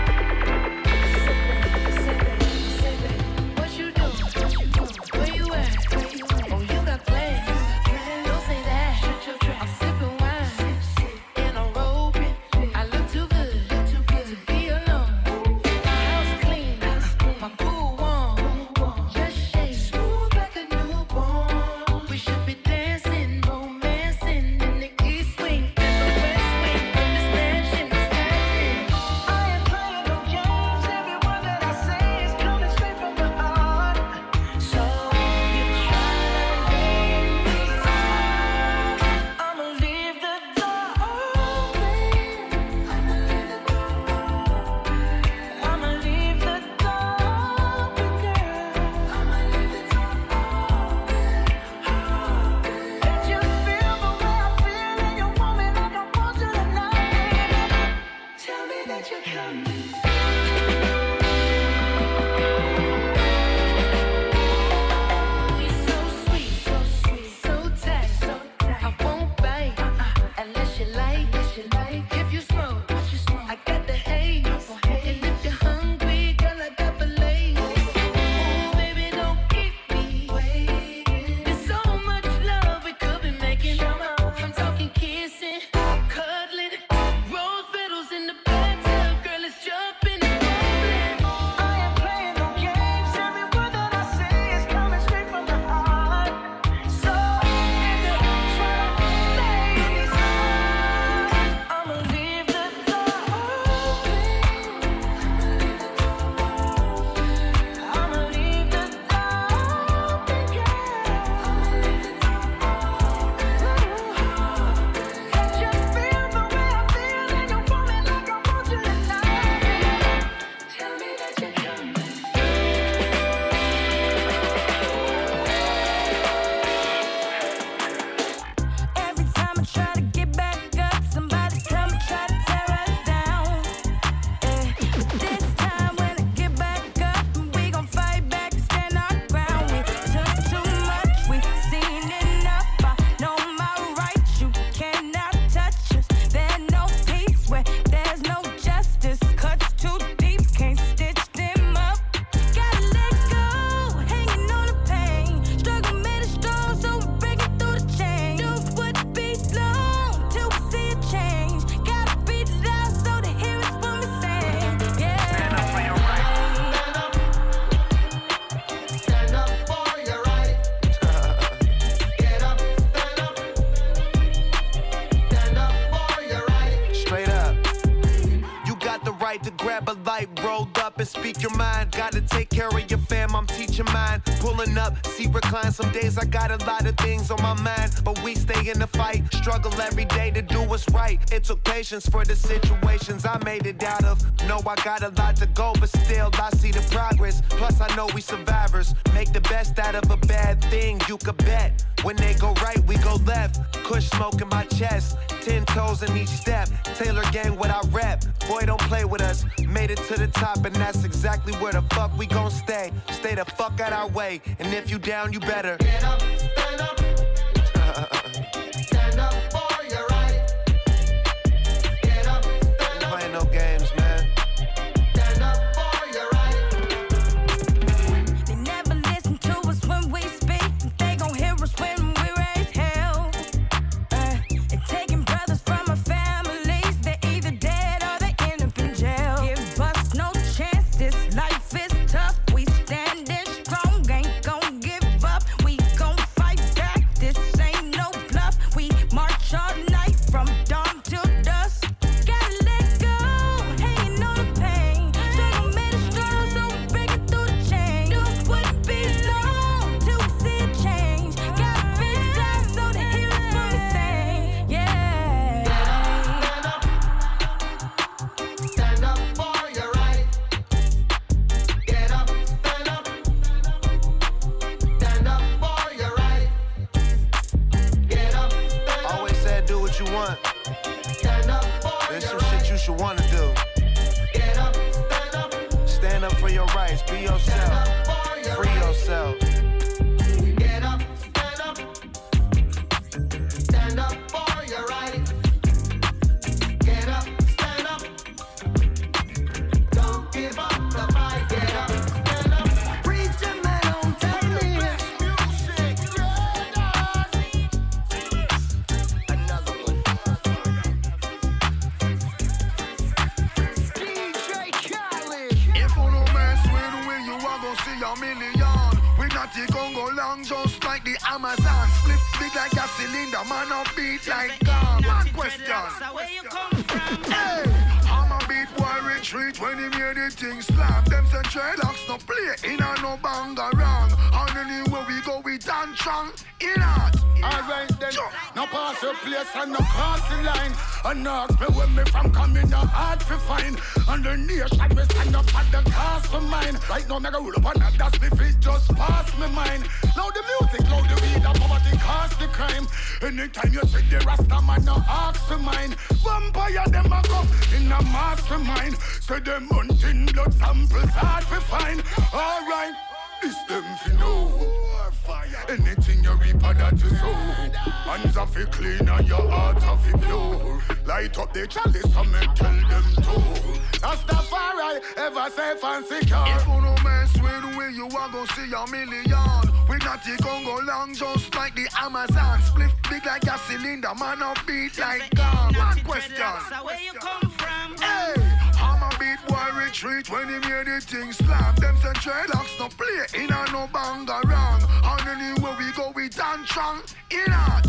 What you do? Where you at? Oh, you got plans. Don't say that. I'm sipping wine in a robe. I look too good to be alone. My house clean, my pool warm. Just shake smooth like a newborn. We should be dancing, romancing in the east wing and the west wing of this mansion. I ain't playing no games. Every word that I say is coming straight from the heart. So you try to leave me, I'ma leave the door open. I'ma leave the door open. I'ma leave the door open, girl. I'ma leave the door open. Let you feel the way I feel, and you want me like I want you tonight. Tell me that you're coming. We so sweet, so sweet, so tight, so tight. I won't bite unless you like, unless you like. If you smoke, what you smoke? I got the haze. And if you're hungry, girl, I got fillets. Ooh, baby, don't keep me waiting. There's so much love we could be making. I'm talking kissing, cuddling, rose petals in the bathtub. Girl, it's jumping and bubbling. I ain't playing no games. Every word that I say is coming straight from the heart. So if you try to phase, I'ma leave the door open. I'ma leave the door open. I'ma leave the door open, girl. I'ma leave the door open. Let you feel the way I feel, and you want me like I want you tonight. Tell me that you're coming. Every time I try to get back up, somebody come and try to tear us down. Eh, but this time when I get back up, we gon' fight back and stand our ground. We took too much, we seen enough. I know my rights, you cannot touch us. There's no peace where there's no justice. Cuts too deep, can't stitch them up. Gotta let go, hanging on the pain. Struggle made us strong, so we break it through the chain. Do what be long till we see a change. Gotta beat it out so they hear us when we sing. Yeah. Stand up for your right. Stand up for your right. Get up, stand up. Stand up for your right. Straight up. You got the right to grab a light, rolled up and speak your mind. Gotta take care of your fam, I'm teaching mine. Pulling up, see recline. Some days I got a lot of things on my mind, but we stay in the fight. Struggle every day to do what's right. It took patience for the situations I made it out of. Know I got a lot to go, but still I see the progress. Plus I know we survivors. Make the best out of a bad thing, you could bet. When they go right, we go left. Kush smoke in my chest, ten toes in each step. Taylor gang what I rep. Boy, don't play with us. Made it to the top, and that's exactly where the fuck we gon' stay. Stay the fuck out our way, and if you down, you better Get up, stand up. Stand up for your right. Get up, stand up. Playing no games, man. Stand up for your right. They never listen to us when we speak. They gon' hear us when we raise hell. Uh, and taking brothers from our families, they're either dead or they end up in jail. Give us no chance, this life is tough. We standing strong, ain't gon' give up. We gon' fight for your rights. Be yourself. Free yourself. Get up, stand up. Stand up for your rights. Get up, stand up. Don't give up the fight. Get up, stand up. Preacher man, don't tell me. Another one. D J Khaled. If you no mess with we, you are gonna see a million. We not the Congo long, just like the Amazon. Split big like a cylinder, man up beat like gum. One question. Where you come from? Hey, I'm a beat boy retreat when he made the thing slap. Them say dreadlocks no play, in a no banga wrong. And anywhere we go, we dance strong. In art. Alright then, no pass your place and no cross the line. And no ask me where me from coming, no hard to find. And the nation me stand up at the cast for mine. Right now, me go roll up on that, that's me feet just pass me mind. Loud the music, loud the weed, and poverty cause the crime. Anytime you see the Rasta man, no ask for mine. Vampire, them a come in a mastermind. Say them hunting blood samples hard to find. Alright, this them fi know. Anything you reap of that you sow. Hands are fi clean and your heart are fi pure. Light up the chalice and me tell them to. Rastafari ever safe and secure. If you no mess with we, you are gonna see a million. We not the Congo long, just like the Amazon. Split big like a cylinder, man up beat like gum. One question. Where you come from? Hey, I'm a beat boy retreat when he made the thing slap. Them say dreadlocks no play, in a no banga wrong. And anywhere we go, we dance strong. In art.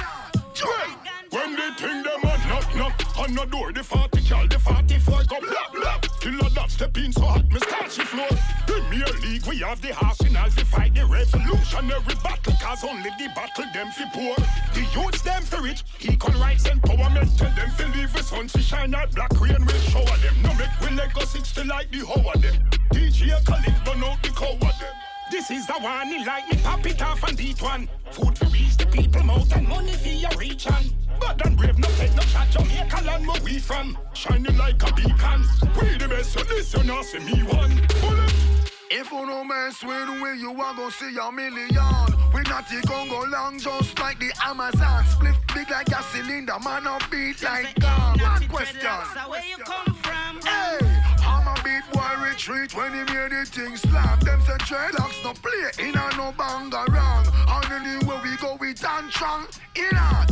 When they think them a knock knock on the door, the forty cal, the forty-four come blap blap. Killer that step in so hot, me start she floor. Premier League, we have the arsenal to fight the revolutionary battle. Cause only the battle them fi poor. The youths them fi rich, equal rights empowerment. Tell them fi leave the sun to shine out, black rain will shower them. No make we let go sixty like the hoe of them. D J Khaled burn out the cow of them. This is the one, he like me, pop it off and beat one. Food to reach the people mouth and money for your reach on. Bad and brave, no take no shot, Jamaica land where we from. Shining like a beacon. We the best, so this you not see me one. Bullet. If you no mess with we, you are gonna see a million. We not the Congo long, just like the Amazon. Split big like a cylinder, man up beat like gum. One question. Where you come from? Hey, I'm a beat boy retreat when he made the thing slap. Them say dreadlocks no play, in a no banga wrong. And anywhere we go, we dance strong. In art.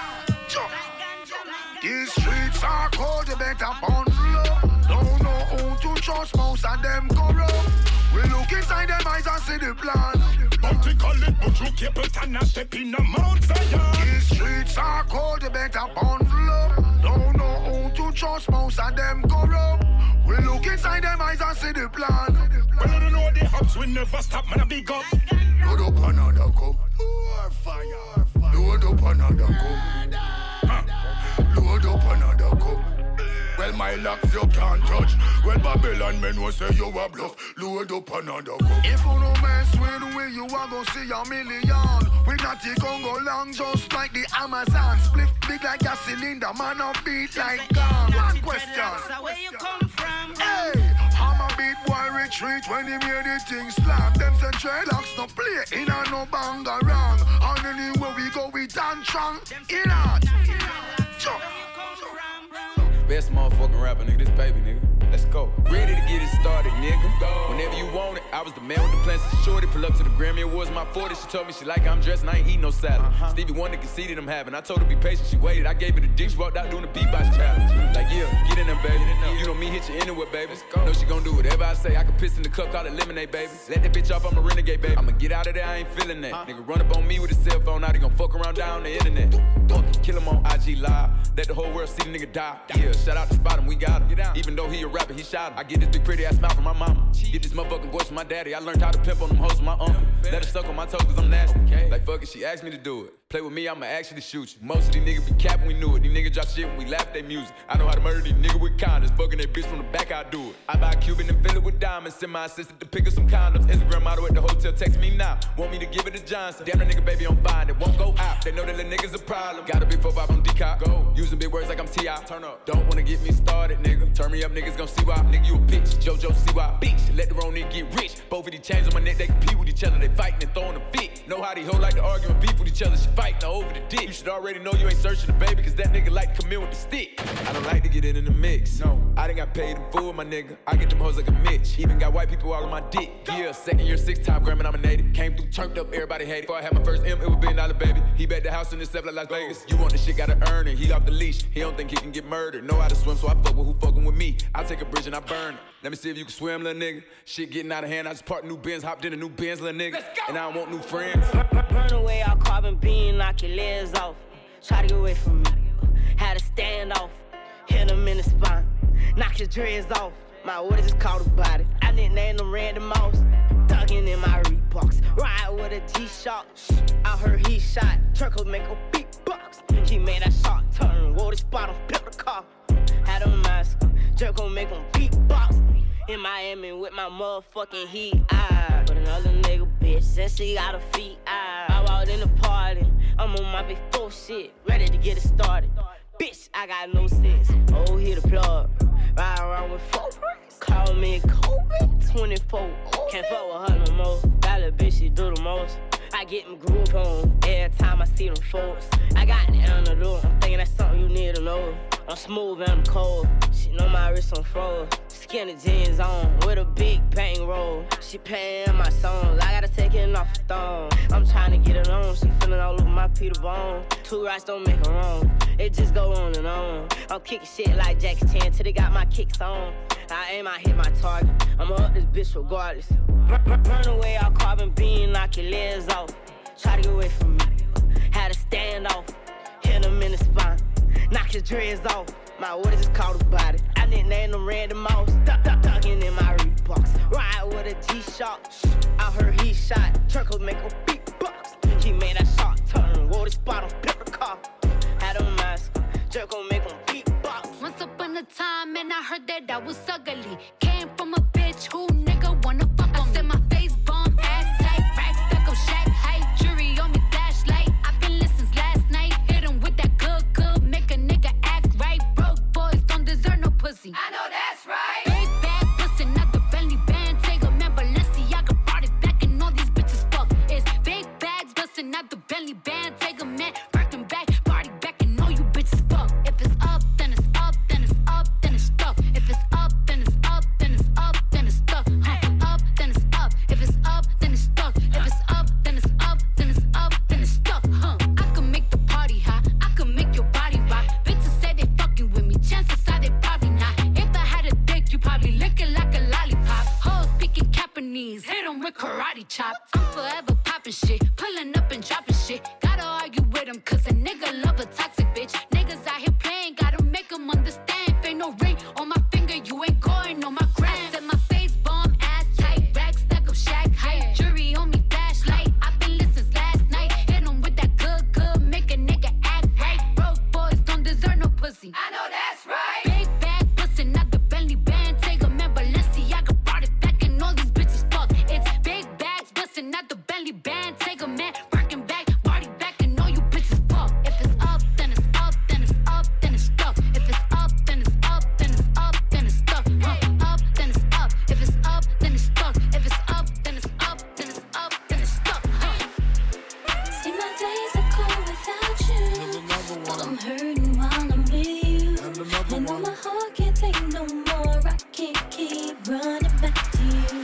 These streets are cold, you better bundle up. Don't know who to trust, most of them corrupt. We look inside them eyes and see the plan. Bounty call it, but you keep it and a step in the Mount Zion. These streets are cold, you better bundle up. Don't know who to trust, most of them corrupt. We look inside them eyes and see the plan. Well, I don't know the hubs will never stop, man, I big up. Load up another cup. More fire. Load up another cup. Huh. Load up another cup. Well, my locks you can't touch. Well, Babylon men will say you a bluff. Load up another cup. If you no mess with we, you are gonna see a million. We not the Congo long, just like the Amazon. Split big like a cylinder, man up beat like gum. One question. Where you come from? Hey, I'm a beat boy retreat when he made the thing slap. Them say dreadlocks no play, in a no banga wrong. And anywhere we go, we dance strong. In art. Best motherfucking rapper, nigga, this baby, nigga. Let's go. Ready to get it started, nigga. Go. Whenever you want it, I was the man with the plans to shorty. Pull up to the Grammy Awards, my forty. She told me she like how I'm dressed and I ain't eating no salad. Uh-huh. Stevie Wonder conceded I'm having. I told her be patient, she waited. I gave her the dick, she walked out doing the beatbox challenge. Like, yeah, get in there, baby. You know me, hit you anywhere, baby. Let's go. Know she gon' do whatever I say. I can piss in the cup, call it lemonade, baby. Let that bitch off, I'm a renegade, baby. I'ma get out of there, I ain't feeling that. Uh-huh. Nigga run up on me with his cell phone, now they gon' fuck around down the internet. Fuck, kill him on I G Live. Let the whole world see the nigga die. Yeah, shout out to Spot him, we got him. Even though he a rapper, he shot him. I get this big pretty ass smile from my mama. Get this motherfucking voice from my daddy. I learned how to pimp on them hoes from my uncle. Let her suck on my toes cause I'm nasty. Like fuck it, she asked me to do it. Play with me, I'ma actually shoot you. Most of these niggas be capping, we knew it. These niggas drop shit when we laugh at their music. I know how to murder these niggas with condoms. Fucking that bitch from the back, I do it. I buy a Cuban and fill it with diamonds. Send my assistant to pick up some condoms. Instagram model at the hotel, text me now. Want me to give it to Johnson. Damn, that nigga baby on fine, it won't go out. They know that the niggas a problem. Got a big four five on D-Cop. Go. Using big words like I'm T I Turn up. Don't wanna get me started, nigga. Turn me up, niggas gon' see why. Nigga, you a bitch. JoJo, see why. Bitch, let the wrong nigga get rich. Both of these chains on my neck, they compete with each other. They fighting and throwing a fit. Know how these hoes like to argue and beef with each other. She fighting over the dick. You should already know you ain't searching the baby, cause that nigga like to come in with the stick. I don't like to get it in the mix. No, I done got paid in full, my nigga. I get them hoes like a Mitch. Even got white people all on my dick. Yeah, second year, six time Grammy nominated. Came through, turned up, everybody hated. Before I had my first M, it was billion dollar baby. He bet the house in himself like Las Vegas. You want the shit, gotta earn it. He off the leash, he don't think he can get murdered. Know how to swim, so I fuck with who fucking with me. I take a bridge and I burn it. Let me see if you can swim, little nigga. Shit getting out of hand, I just parked new Benz, hopped in a new Benz, little nigga. And I don't want new friends. Burn away our carbon beam, knock your legs off. Try to get away from me. Had to stand off. Hit him in the spine. Knock your dreads off. My orders just caught about it. I didn't name them Randy Moss. Thuggin' in my Reeboks. Ride with a G-Shock. I heard he shot. Turco make a beatbox. He made that shot turn. Wore the spot on, built the car. Had a mask. Jerk gon' make him beatbox. In Miami with my motherfucking heat. I but another nigga bitch. Since she got her feet. I, I walked in the party. I'm on my big four shit. Ready to get it started. Bitch, I got no sense. Oh, hit the plug. Ride around with four bricks. Call me Kobe. twenty-four. Can't fuck with her no more. That little bitch, she do the most. I get them groove on every time I see them folks. I got the antidote. I'm thinking that's something you need to know. I'm smooth and I'm cold. She know my wrist on froze. Skinny jeans on with a big bang roll. She playing my songs. I gotta take it off the thong. I'm trying to get it on. She feeling all over my Peter Bone. Two rights don't make her wrong. It just go on and on. I'm kicking shit like Jackie Chan till they got my kicks on. I aim, I hit my target. I'ma up this bitch regardless. Burn, burn away our carbon beam, knock your legs off. Try to get away from me. Had to stand off. Hit him in the spine. Knock your dreads off. My orders just caught about it. I didn't name them Randy Moss. Duck, duck, ducking in my Reeboks. Ride with a G-Shock. I heard he shot. Turco make a beatbox. He made that shot turn. Wore the spot on, built the car. Had a mask. Jerk gon' make him beatbox. Once upon a time, and I heard that I was ugly. Came from a bitch who nigga wanna fuck on me. I said my face bomb, ass tight, rack stuck up, shack height, jury on me, flashlight. I've been listening last night. Hit him with that good, good, make a nigga act right. Broke boys don't deserve no pussy. I know that's right. Big bag pussy, not the Bentley band. Take a man, Balenciaga brought it back, and all these bitches fuck. It's big bags bustin', not the Bentley band. Take a man, Birkin back, party back, and all you bitches fuck. If it's up, then it's up, then it's up, then it's stuck. If it's up, then it's up, then it's up, then it's stuck. Huh. Up, then it's up. If it's up, then it's stuck. If it's up, then it's up, then it's up, then it's stuck. Huh. I can make the party hot. I can make your body rock. Bitches say they fucking with me. Chances are they probably not. If I had a dick, you probably lick it like a lollipop. Hoes speaking Japanese, hit 'em with karate chops. I'm forever popping shit, pulling up and dropping shit. Gotta argue with 'em, cause a nigga love a toxic bitch. Niggas out here playing, gotta make 'em understand. If ain't no ring on my finger, you ain't going on my gram. I said my face bomb, ass tight, rack stuck up, shack height, jury on me, flashlight. I've been listening last night. Hit 'em with that good, good, make a nigga act right. Broke boys don't deserve no pussy. I know that's right. Big bag pussy, not the Bentley band. Take a man, Balenciaga brought it back, and all these bitches fuck. It's big bags bustin', not the Bentley band. Take a man, Birkin back, party back, and all you bitches fuck. If it's up, then it's up, then it's up, then it's stuck. If it's up, then it's up, then it's up, then it's stuck. Huh. Up, then it's up. If it's up, then it's stuck. If it's up, then it's up, then it's up, then it's stuck. Huh. See, my days are cold without you, but I'm hurting while I'm with you. I know my heart can't take no more. I can't keep running back to you.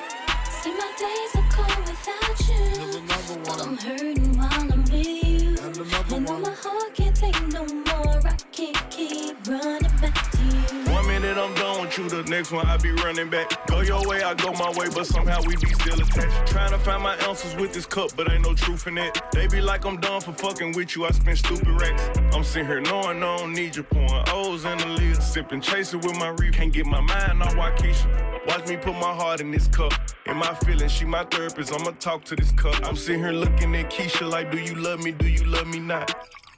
See, my days are cold without you, but I'm hurting while I'm with you. I know my heart can't take no more. I can't keep running back to you. One minute I'm done with you, you the next one, I be running back. Go your way, I go my way, but somehow we be still attached. Trying to find my answers with this cup, but ain't no truth in it. They be like I'm done for fucking with you, I spend stupid racks. I'm sitting here knowing I don't need you, pouring O's in the lid. Sipping, chasing with my reef, can't get my mind on Waukesha. Watch me put my heart in this cup. In my feelings, she my therapist, I'ma talk to this cup. I'm sitting here looking at Keisha like, do you love me, do you love me not?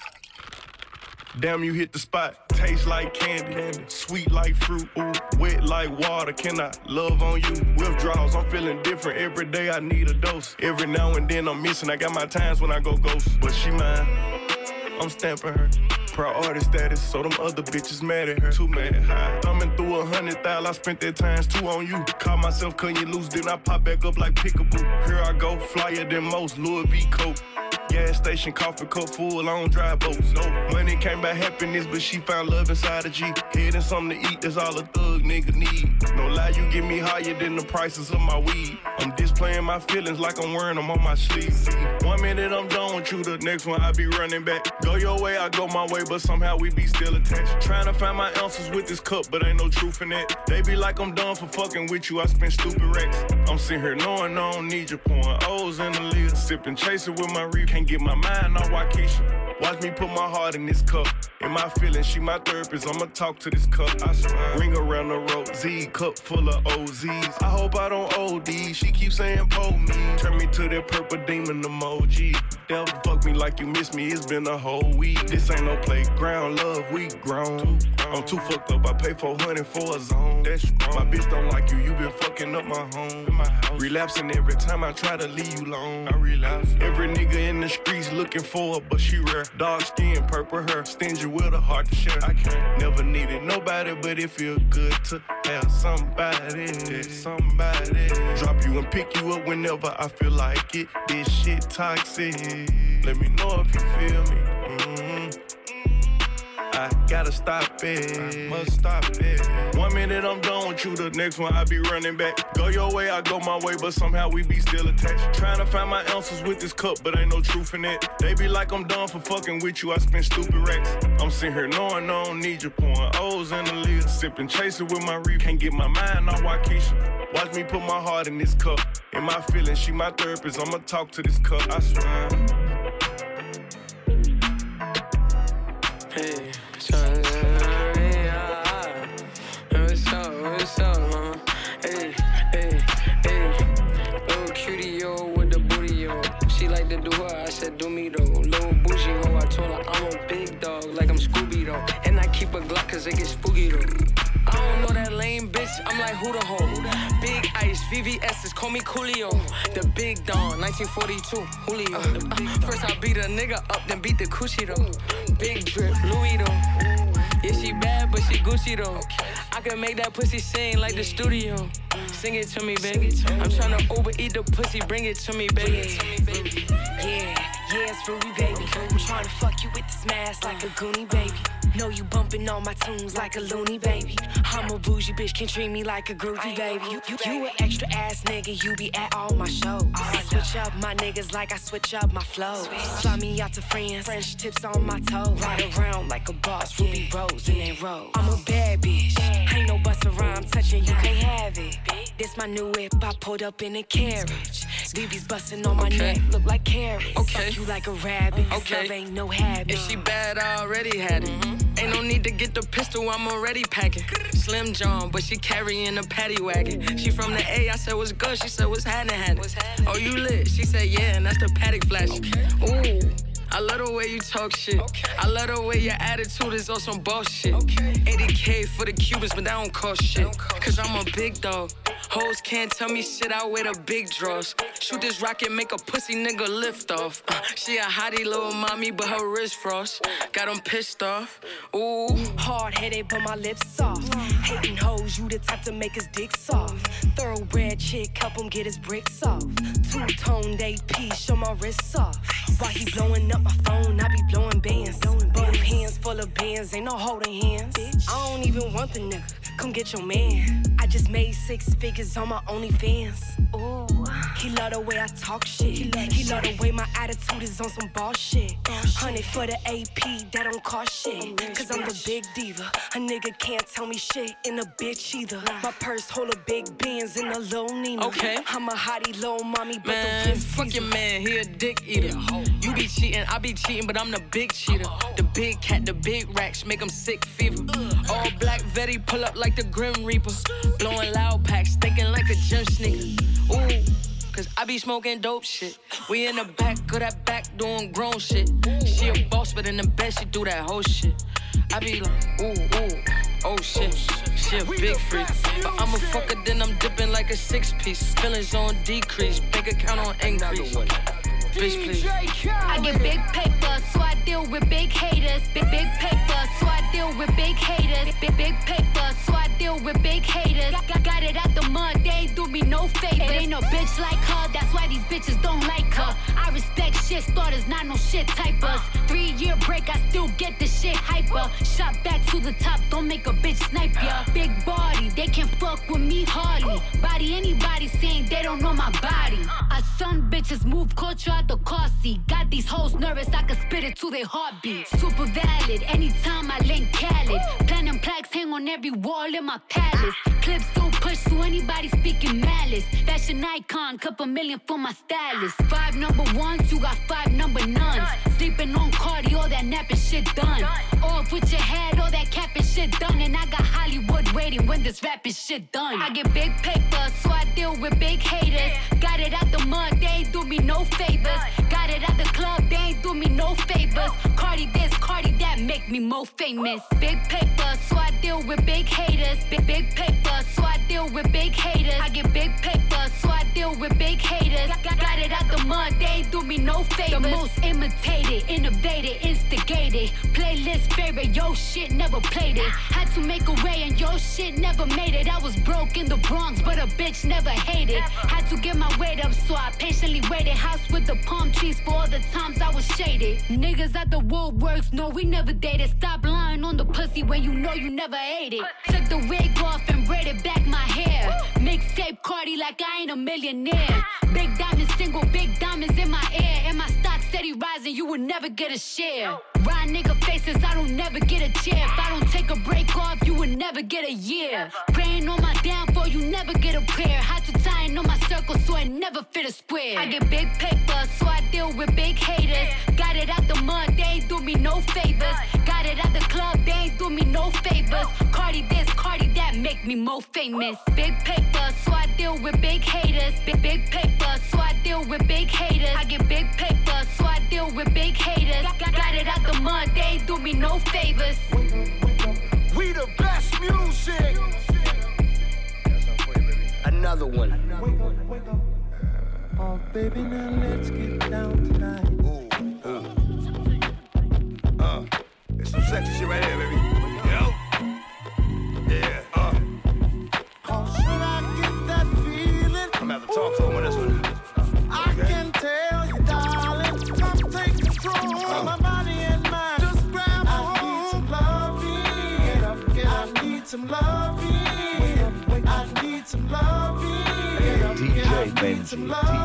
Damn, you hit the spot. Taste like candy, candy. Sweet like fruit, ooh. Wet like water, can I love on you? Withdrawals, I'm feeling different. Every day I need a dose. Every now and then I'm missing, I got my times when I go ghost. But she mine, I'm stamping her. Priority status, so them other bitches mad at her. Too mad high. Thumbing through a hundred thousand, I spent that times two on you. Caught myself cutting you loose, then I pop back up like Pickaboo. Here I go, flyer than most, Louis V. Coke. Gas station, coffee cup full, I don't drive boats. No money came by happiness, but she found love inside a G. Head and something to eat, that's all a thug nigga need. No lie, you get me higher than the prices of my weed. I'm displaying my feelings like I'm wearing them on my sleeves. One minute I'm done with you, the next one I be running back. Go your way, I go my way, but somehow we be still attached. Trying to find my answers with this cup, but ain't no truth in it. They be like I'm done for fucking with you, I spend stupid racks. I'm sitting here knowing I don't need you, pouring O's in the lid. Sipping, chasing with my reef, can't get my mind on Waukesha. Watch me put my heart in this cup. In my feelings, she my therapist, I'ma talk to this cup. I swear. Ring around the road, Z, cup full of O Zs. I hope I don't O D, she keeps saying pull me. Turn me to that purple demon emoji. Devil fuck me like you miss me, it's been a whole week. This ain't no playground, love, we grown. I'm too fucked up, I pay four hundred for a zone. That's strong. My bitch don't like you, you been fucking up my home. In my house. Relapsing every time I try to leave you alone. I relapse. Every nigga in the streets looking for her, but she rare. Dark skin, purple hair, stingy with a heart to share. I can't never needed nobody, but it feel good to have somebody. Somebody drop you and pick you up whenever I feel like it. This shit toxic. Let me know if you feel me. Mm-hmm. I gotta stop it, I must stop it. One minute I'm done with you, the next one I be running back. Go your way, I go my way, but somehow we be still attached. Trying to find my answers with this cup, but ain't no truth in it. They be like I'm done for fucking with you, I spend stupid racks. I'm sitting here knowing I don't need you, pouring O's in the lid. Sipping, chasing with my reef, can't get my mind on Waukesha. Watch me put my heart in this cup. In my feelings, she my therapist, I'ma talk to this cup, I swear. Hey, tryna hurry up. What's up, what's up, mama? Hey, hey, hey. Little cutie, yo, with the booty, yo. She like to do her, I said do me, though. Little bougie, ho, I told her I'm a big dog, like I'm Scooby, though. And I keep a Glock, cause it gets spooky, though. I don't know that lame bitch, I'm like who the hoe? Big ice, V V S's, call me Coolio. The big Don, nineteen forty-two, Julio. Uh, first I beat a nigga up, then beat the coochie though. Big drip, Louis though. Yeah, she bad, but she Gucci though. I can make that pussy sing like the studio. Sing it to me, baby. I'm tryna overeat the pussy, bring it to me, baby. Yeah, yeah, it's Ruby, baby. I'm tryna fuck you with this mask like a goonie, baby. Know you bumping on my tunes like a loony, baby. I'm a bougie bitch, can treat me like a groupie, baby. You, you, you an extra ass nigga, you be at all my shows. I switch up my niggas like I switch up my flows. Fly me out to friends, French tips on my toes. Ride around like a boss, Ruby Rose in that road. I'm a bad bitch, ain't no bust around touching, you can't have it. This my new whip, I pulled up in a carriage. B B's busting on my okay. neck, look like carrots. Okay. Fuck you like a rabbit, okay. Love ain't no habit. If she bad, I already had it. Mm-hmm. Ain't no need to get the pistol, I'm already packing. Slim John, but she carrying a paddy wagon. She from the A, I said what's good, she said what's happening, happening. Oh, you lit? She said yeah, and that's the paddock flash. Okay. Ooh. I love the way you talk shit. Okay. I love the way your attitude is on some bullshit. Okay. eighty K for the Cubans, but that don't cost shit. Don't cost Cause I'm a big dog. Hoes can't tell me shit, I wear the big draws. Shoot this rocket, make a pussy nigga lift off. Uh, she a hottie little mommy, but her wrist frost. Got them pissed off. Ooh. Hard-headed, but my lips soft. Hating hoes, you the type to make his dick soft. Thoroughbred chick, help him get his bricks off. Two-toned A P, show my wrists off. While he blowing up my phone, I be blowing bands. Both hands full of bands, ain't no holding hands. I don't even want the nigga, come get your man. I just made six figures niggas on my OnlyFans. Ooh, he love the way I talk shit. He love, he love the way my attitude is on some ball shit. Honey for the A P, that don't cost shit. Cause I'm the big diva. A nigga can't tell me shit in a bitch either. My purse hold a big Benz in a Lil Nina. Okay. I'm a hottie, lil mommy, but man, the wrist fuck your man, he a dick eater. You be cheating, I be cheating, but I'm the big cheater. The big cat, the big racks, make him sick fever. All black Vetti, pull up like the Grim Reaper. Blowing loud packs, thinking like a gym sneaker. Ooh, cause I be smoking dope shit. We in the back of that back doing grown shit. She a boss, but in the bed she do that whole shit. I be like, ooh, ooh, oh shit. She a big freak, but I'm a fucker, then I'm dipping like a six piece. Feelings on decrease, bank account on increase. Bitch, please. I get big paper, so I deal with big haters. Big, big paper, so I deal with big haters. Big, big paper, so I deal with big haters. Got, got it out the mud, they ain't do me no favors. It ain't no bitch like her, that's why these bitches don't like her. I respect shit starters, not no shit typers. Three year break, I still get the shit hyper. Shot back to the top, don't make a bitch snipe ya. Big body, they can fuck with me hardly. Body anybody saying they don't know my body. I son bitches move culture out the car seat. Got these hoes nervous, I can spit it to their heartbeat. Super valid, anytime I link Khaled. Platinum plaques hang on every wall in my palace. Clips still push to anybody speaking malice. Fashion icon, couple million for my stylist. Five number ones, you got five number nuns. Sleeping on Cardi, all that napping shit done. Off with your head, all that capping shit done. And I got Hollywood waiting when this rapping shit done. I get big paper, so I deal with big haters. Got it out the mud, they ain't do me no favors. Got it at the club, they ain't do me no favors. Cardi this, Cardi that, make me more famous. Big paper, so I deal with big haters. Big, big paper, so I deal with big haters. I get big paper, so I deal with big haters. Got, got it out the mud, they ain't do me no favors. The most imitated, innovated, instigated. Playlist favorite, yo shit never played it. Had to make a way and yo shit never made it. I was broke in the Bronx, but a bitch never hated. Had to get my weight up, so I patiently waited. House with the palm trees for all the times I was shaded. Niggas at the Woodworks, no, we never dated. Stop lying on the pussy when you know you never ate it. Took the wig off and braided back my hair. Mixtape Cardi like I ain't a millionaire. Big diamonds single, big diamonds in my ear. And my stock steady rising, you will never get a share. Ride nigga faces, I don't never get a chair. If I don't take a break off, you will never get a year. Praying on my downfall, you never get a prayer. Had to tie in on my circle so I never fit a square. I get big paper, so I deal with big haters. Got it out the mud, they ain't do me no favors. Got it at the club, they ain't do me no favors. Cardi this, Cardi that, make me more famous. Big paper, so I deal with big haters. Big, big paper, so I deal with big haters. I get big paper, so I deal with big haters. Got, got it out the mud, they ain't do me no favors. We the best music. Another one. Oh, baby, now let's get down tonight. Ooh, uh, uh, it's some sexy shit right here, baby. Yo, yeah, uh. Oh, should I get that feeling? I'm gonna have to talk to him on this one. I okay. can tell you, darling, come take control of my body and mind. Just grab a hold. I need some loving. Get up, get up. I need some loving. I need some loving. D J Benji,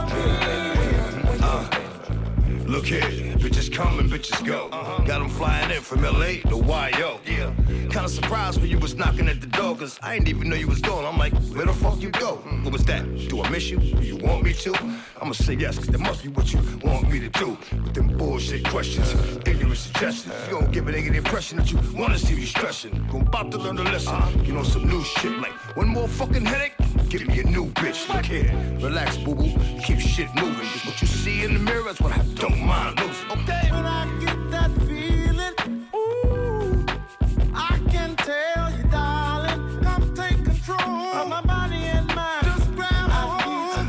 uh, look here, bitches come and bitches go. Uh-huh. Got them flying in from L A to Y O. Yeah. Kinda surprised when you was knocking at the door, cause I didn't even know you was going. I'm like, where the fuck you go? Mm. What was that? Do I miss you? Do you want me to? I'ma say yes, cause that must be what you want me to do. With them bullshit questions, uh, ignorant suggestions. You gon' give a nigga the impression that you wanna see you stressing. You about to learn a lesson. Uh-huh. You know, some new shit like one more fucking headache. Give me a new bitch, look here. Relax, boo-boo, keep shit moving. Cause what you see in the mirror is what I don't mind losing. Okay. When I get that feeling, ooh, I can tell you, darling, come take control of my body and mind. Just grab a hold.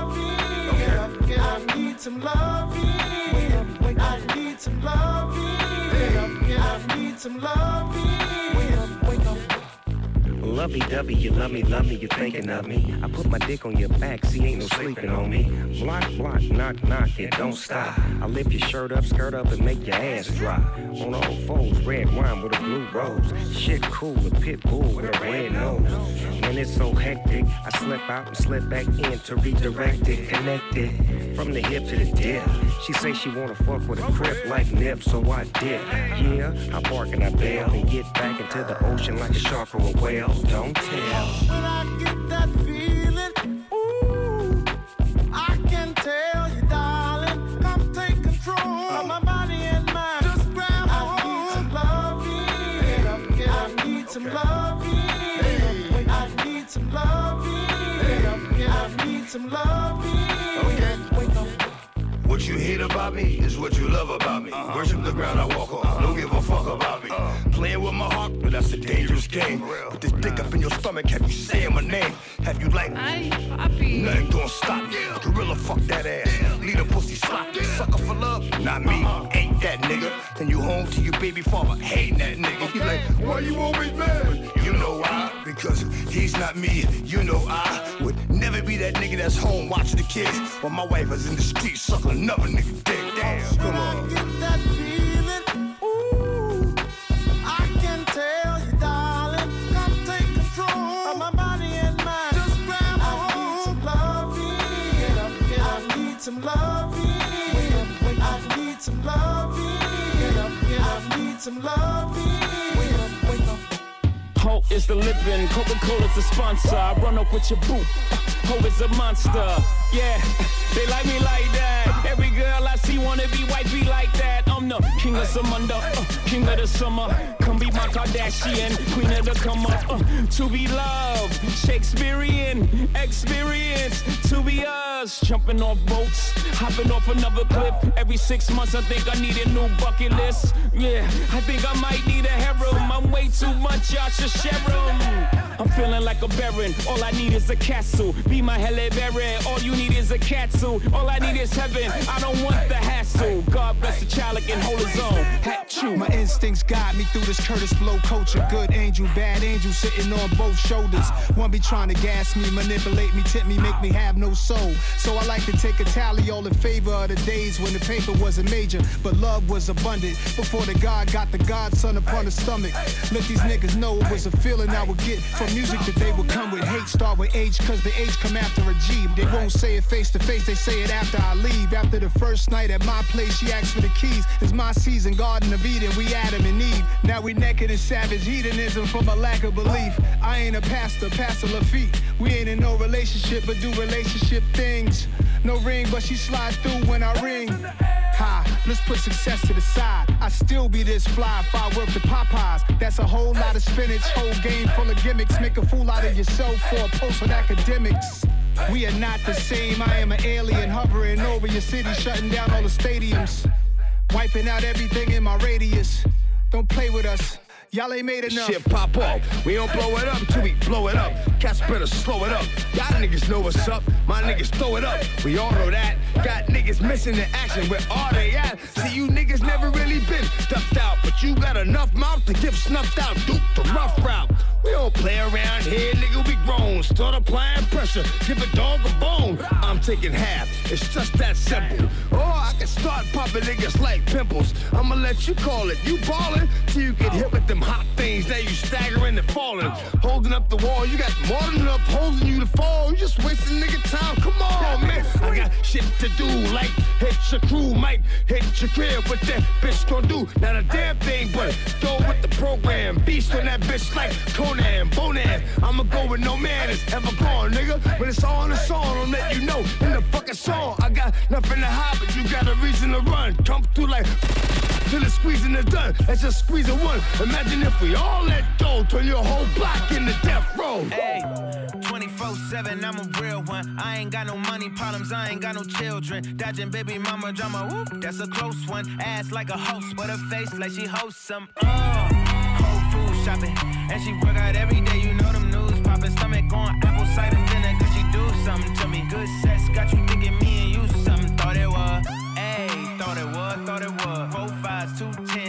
I need some loving. Okay. I need some loving. I need some loving. I need some loving. lovey-dovey, you love me, love me, you thinking of me. I put my dick on your back, see ain't no sleeping on me. Block, block, knock, knock, it don't stop. I lift your shirt up, skirt up, and make your ass drop. On all fours, red wine with a blue rose. Shit cool, a pit bull with a red nose. When it's so hectic, I slip out and slip back in to redirect it, connect it. From the hip to the dip. She say she wanna fuck with a crip like Nip, so I dip. Yeah, I bark and I bail and get back into the ocean like a shark or a whale. Don't tell. When I get that feeling, ooh, I can tell you, darling, come take control of my body and mind. Just grab hold. I need some loving. I need some loving. I need some loving. Okay. What you hate about me is what you love about me. Uh-huh. Worship the ground I walk on. Uh-huh. Don't give a fuck about me. Uh-huh. Playing with my heart, but that's a dangerous game. Put this dick up in your stomach, have you saying my name? Have you like, ay, papi. Nothing gonna stop me. Gorilla, fuck that ass. Lead a pussy sloppy. Sucker for love? Not me. Uh-huh. Ain't that nigga. Then you home to your baby father, hating that nigga. He like, why you always mad? You know why? Because he's not me. You know I would never be that nigga that's home watching the kids while my wife is in the street sucking another nigga dick. Damn, come on. When I get that feeling, ooh, I can tell you, darling, come take control of my body and mind. Just grab hold. I need some loving. I need some loving. I need some loving. Hope is the living, Coca-Cola's the sponsor. I run up with your boo. Hope is a monster. Yeah, they like me like that. Every girl I see wanna be wifey like that. I'm the king of Samunda, uh, king of the summer. Come be my Kardashian, queen of the come up. Uh, to be loved, Shakespearean experience. To be us, jumping off boats, hopping off another cliff. Every six months I think I need a new bucket list. Yeah, I think I might need a harem. I'm way too much, y'all should share 'em. I'm feeling like a baron, all I need is a castle. Be my Halle Berry, all you need is a catsuit. All I need is heaven, I don't want the hassle. God bless the child that can hold his own. Hat true. My instincts guide me through this Curtis Blow culture. Good angel, bad angel sitting on both shoulders. One be trying to gas me, manipulate me, tempt me, make me have no soul. So I like to take a tally all in favor of the days when the paper wasn't major, but love was abundant. Before the God got the godson upon the stomach. Let these niggas know it was a feeling I would get from music that they would come with. Hate start with H, cause the H come after a G. They won't say it face to face, they say it after I leave. After the first night at my place, she asked for the keys. It's my season, Garden of Eden, we Adam and Eve. Now we naked in savage hedonism from a lack of belief. I ain't a pastor, Pastor Lafitte. We ain't in no relationship, but do relationship things. No ring, but she slide through when I ring. Ha, let's put success to the side. I still be this fly if I work the Popeyes. That's a whole lot of spinach, whole game full of gimmicks. Make a fool out of yourself for a post on academics. We are not the same, I am an alien hovering over your city, shutting down all the stadiums. Wiping out everything in my radius. Don't play with us. Y'all ain't made enough. Shit pop off. We don't blow it up till we blow it up. Cats better slow it up. Y'all niggas know what's up. My niggas throw it up. We all know that. Got niggas missing in action. Where are they at? See, you niggas never really been stuffed out. But you got enough mouth to get snuffed out. Duke the rough route. We don't play around here, nigga, we grown. Start applying pressure, give a dog a bone. I'm taking half, it's just that simple. Or I can start popping niggas like pimples. I'ma let you call it, you ballin' till you get hit with them hot things. Now you staggering and falling. Holding up the wall, you got more than enough holding you to fall. You just wasting nigga time, come on, man. I got shit to do, like hit your crew, might hit your crib. What that bitch gon' do? Not a damn thing, but go with the program. Beast on that bitch like Conan. Bonan, I'ma go with no man is ever gone, nigga. When it's all in the song, I'll let you know in the fucking song. I got nothing to hide, but you got a reason to run. Come through like till the squeezing is done. Let's just squeeze a one. Imagine if we all let go, turn your whole block into death row. Hey, twenty-four seven, I'm a real one. I ain't got no money problems, I ain't got no children. Dodging baby mama drama, whoop, that's a close one. Ass like a host, but her face like she hosts some. Uh. Whole food shopping, and she work out every day. You know them news popping, stomach on apple cider vinegar. She do something to me. Good sex got you thinking me and you something. Thought it was, ayy, thought it was, thought it was. Four fives, two tens, that's a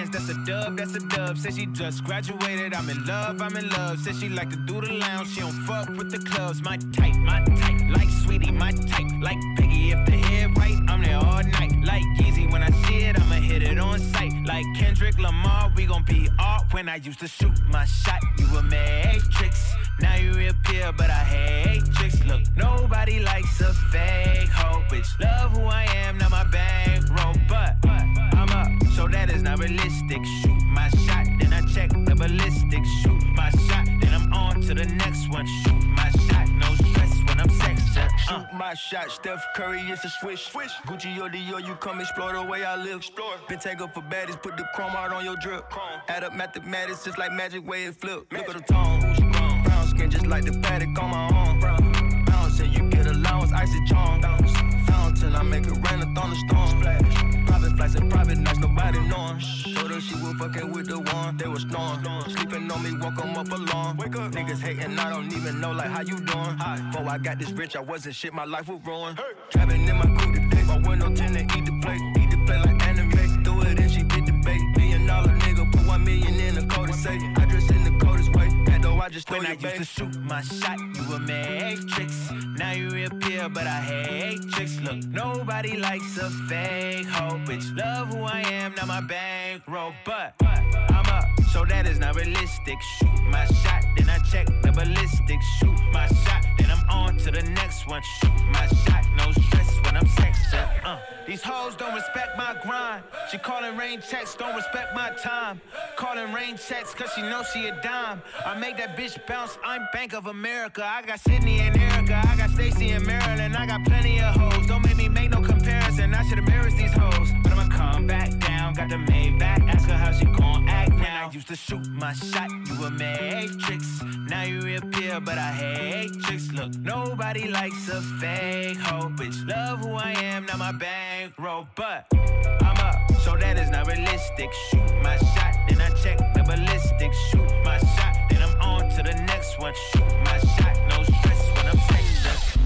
dub, that's a dub. Said she just graduated, I'm in love, I'm in love. Said she like to do the lounge, she don't fuck with the clubs. My type, my type, like Sweetie, my type, like Biggie. If the head right, I'm there all night. Like Yeezy, when I see it, I'ma hit it on sight. Like Kendrick Lamar, we gon' be art. When I used to shoot my shot, you a matrix. Now you reappear, but I hate tricks. Look, nobody likes a fake hoe, bitch. Love who I am, not my bankroll, but I'm up, so that is not realistic. Shoot my shot, then I check the ballistics. Shoot my shot, then I'm on to the next one. Shoot my shot, no stress when I'm sexing. Uh. Shoot my shot, Steph Curry, it's a swish. Swish. Gucci or Dior, you come explore the way I live. Explore. Been take up for baddies, put the chrome out on your drip. Chrome. Add up mathematics, just like magic way it flip. Magic. Look at the tone. Brown skin, just like the paddock on my arm. Brown. Bounce and you get allowance, icy charm. Bounce. Fountain, I make it rain, a thunderstorm. Splash. Private flights and private nights, nobody knowing. Told her she was fucking with the one, they was snoring. Sleeping on me, woke 'em up alone. Wake up. Niggas hating, I don't even know, like, how you doing? Hi. Before I got this rich, I wasn't shit, my life was ruined. Hey. Driving in my coupe today, my window tend to eat the plate. Eat the plate like anime, threw it and she did the bait. Million dollar nigga, put one million in the code and say, I dress in the coldest way. That though I just stole when your I babe. used to shoot my shot, you a matrix. Now you reappear, but I hate tricks. Look, nobody likes a fake hoe, bitch. Love who I am, not my bankroll, but I'm up, so that is not realistic. Shoot my shot, then I check the ballistics. Shoot my shot, then I'm on to the next one. Shoot my shot, no stress when I'm sexing. Uh. These hoes don't respect my grind. She calling rain checks, don't respect my time. Calling rain checks, cause she knows she a dime. I make that bitch bounce, I'm Bank of America. I got Sydney and Erica, I got Stacy and Maryland. I got plenty of hoes, don't make me make no comparison. I should embarrass these hoes, but I'ma come back down. Got the Maybach, ask her how she gon' act now. I used to shoot my shot, you a matrix. Now you reappear, but I hate tricks. Look, nobody likes a fake hoe, bitch. Love who I am, not my bankroll, but I'm up, so that is not realistic. Shoot my shot, then I check the ballistics. Shoot my shot, then I'm on to the next one. Shoot my shot, no stress when I'm sexing.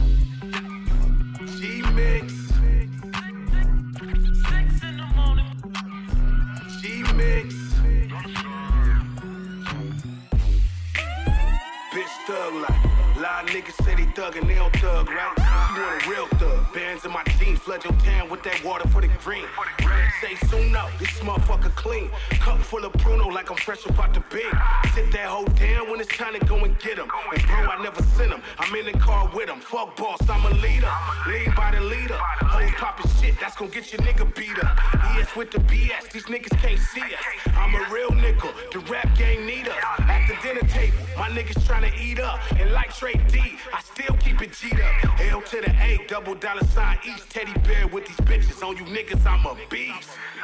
G-Mix. Six in the morning. G-Mix. Bitch thug like. A lot of niggas say they thug and they don't thug, right? You want a real thug. Bands in my jeans, flood your town with that water for the green. Say soon up, this motherfucker clean. Cup full of Bruno like I'm fresh up out the bin. Sit that hoe down when it's time to go and get him. And bro, I never sent him. I'm in the car with him. Fuck boss, I'm a leader. Lead by the leader. Hoes poppin' shit, that's gon' get your nigga beat up. E S with the B S, these niggas can't see us. I'm a real nickel, the rap gang need us. At the dinner table, my niggas tryna eat up. And like Trey D, I still keep it G'd up. L to the A, double dollar sign each. Teddy bear with these bitches. On you niggas, I'm a beast.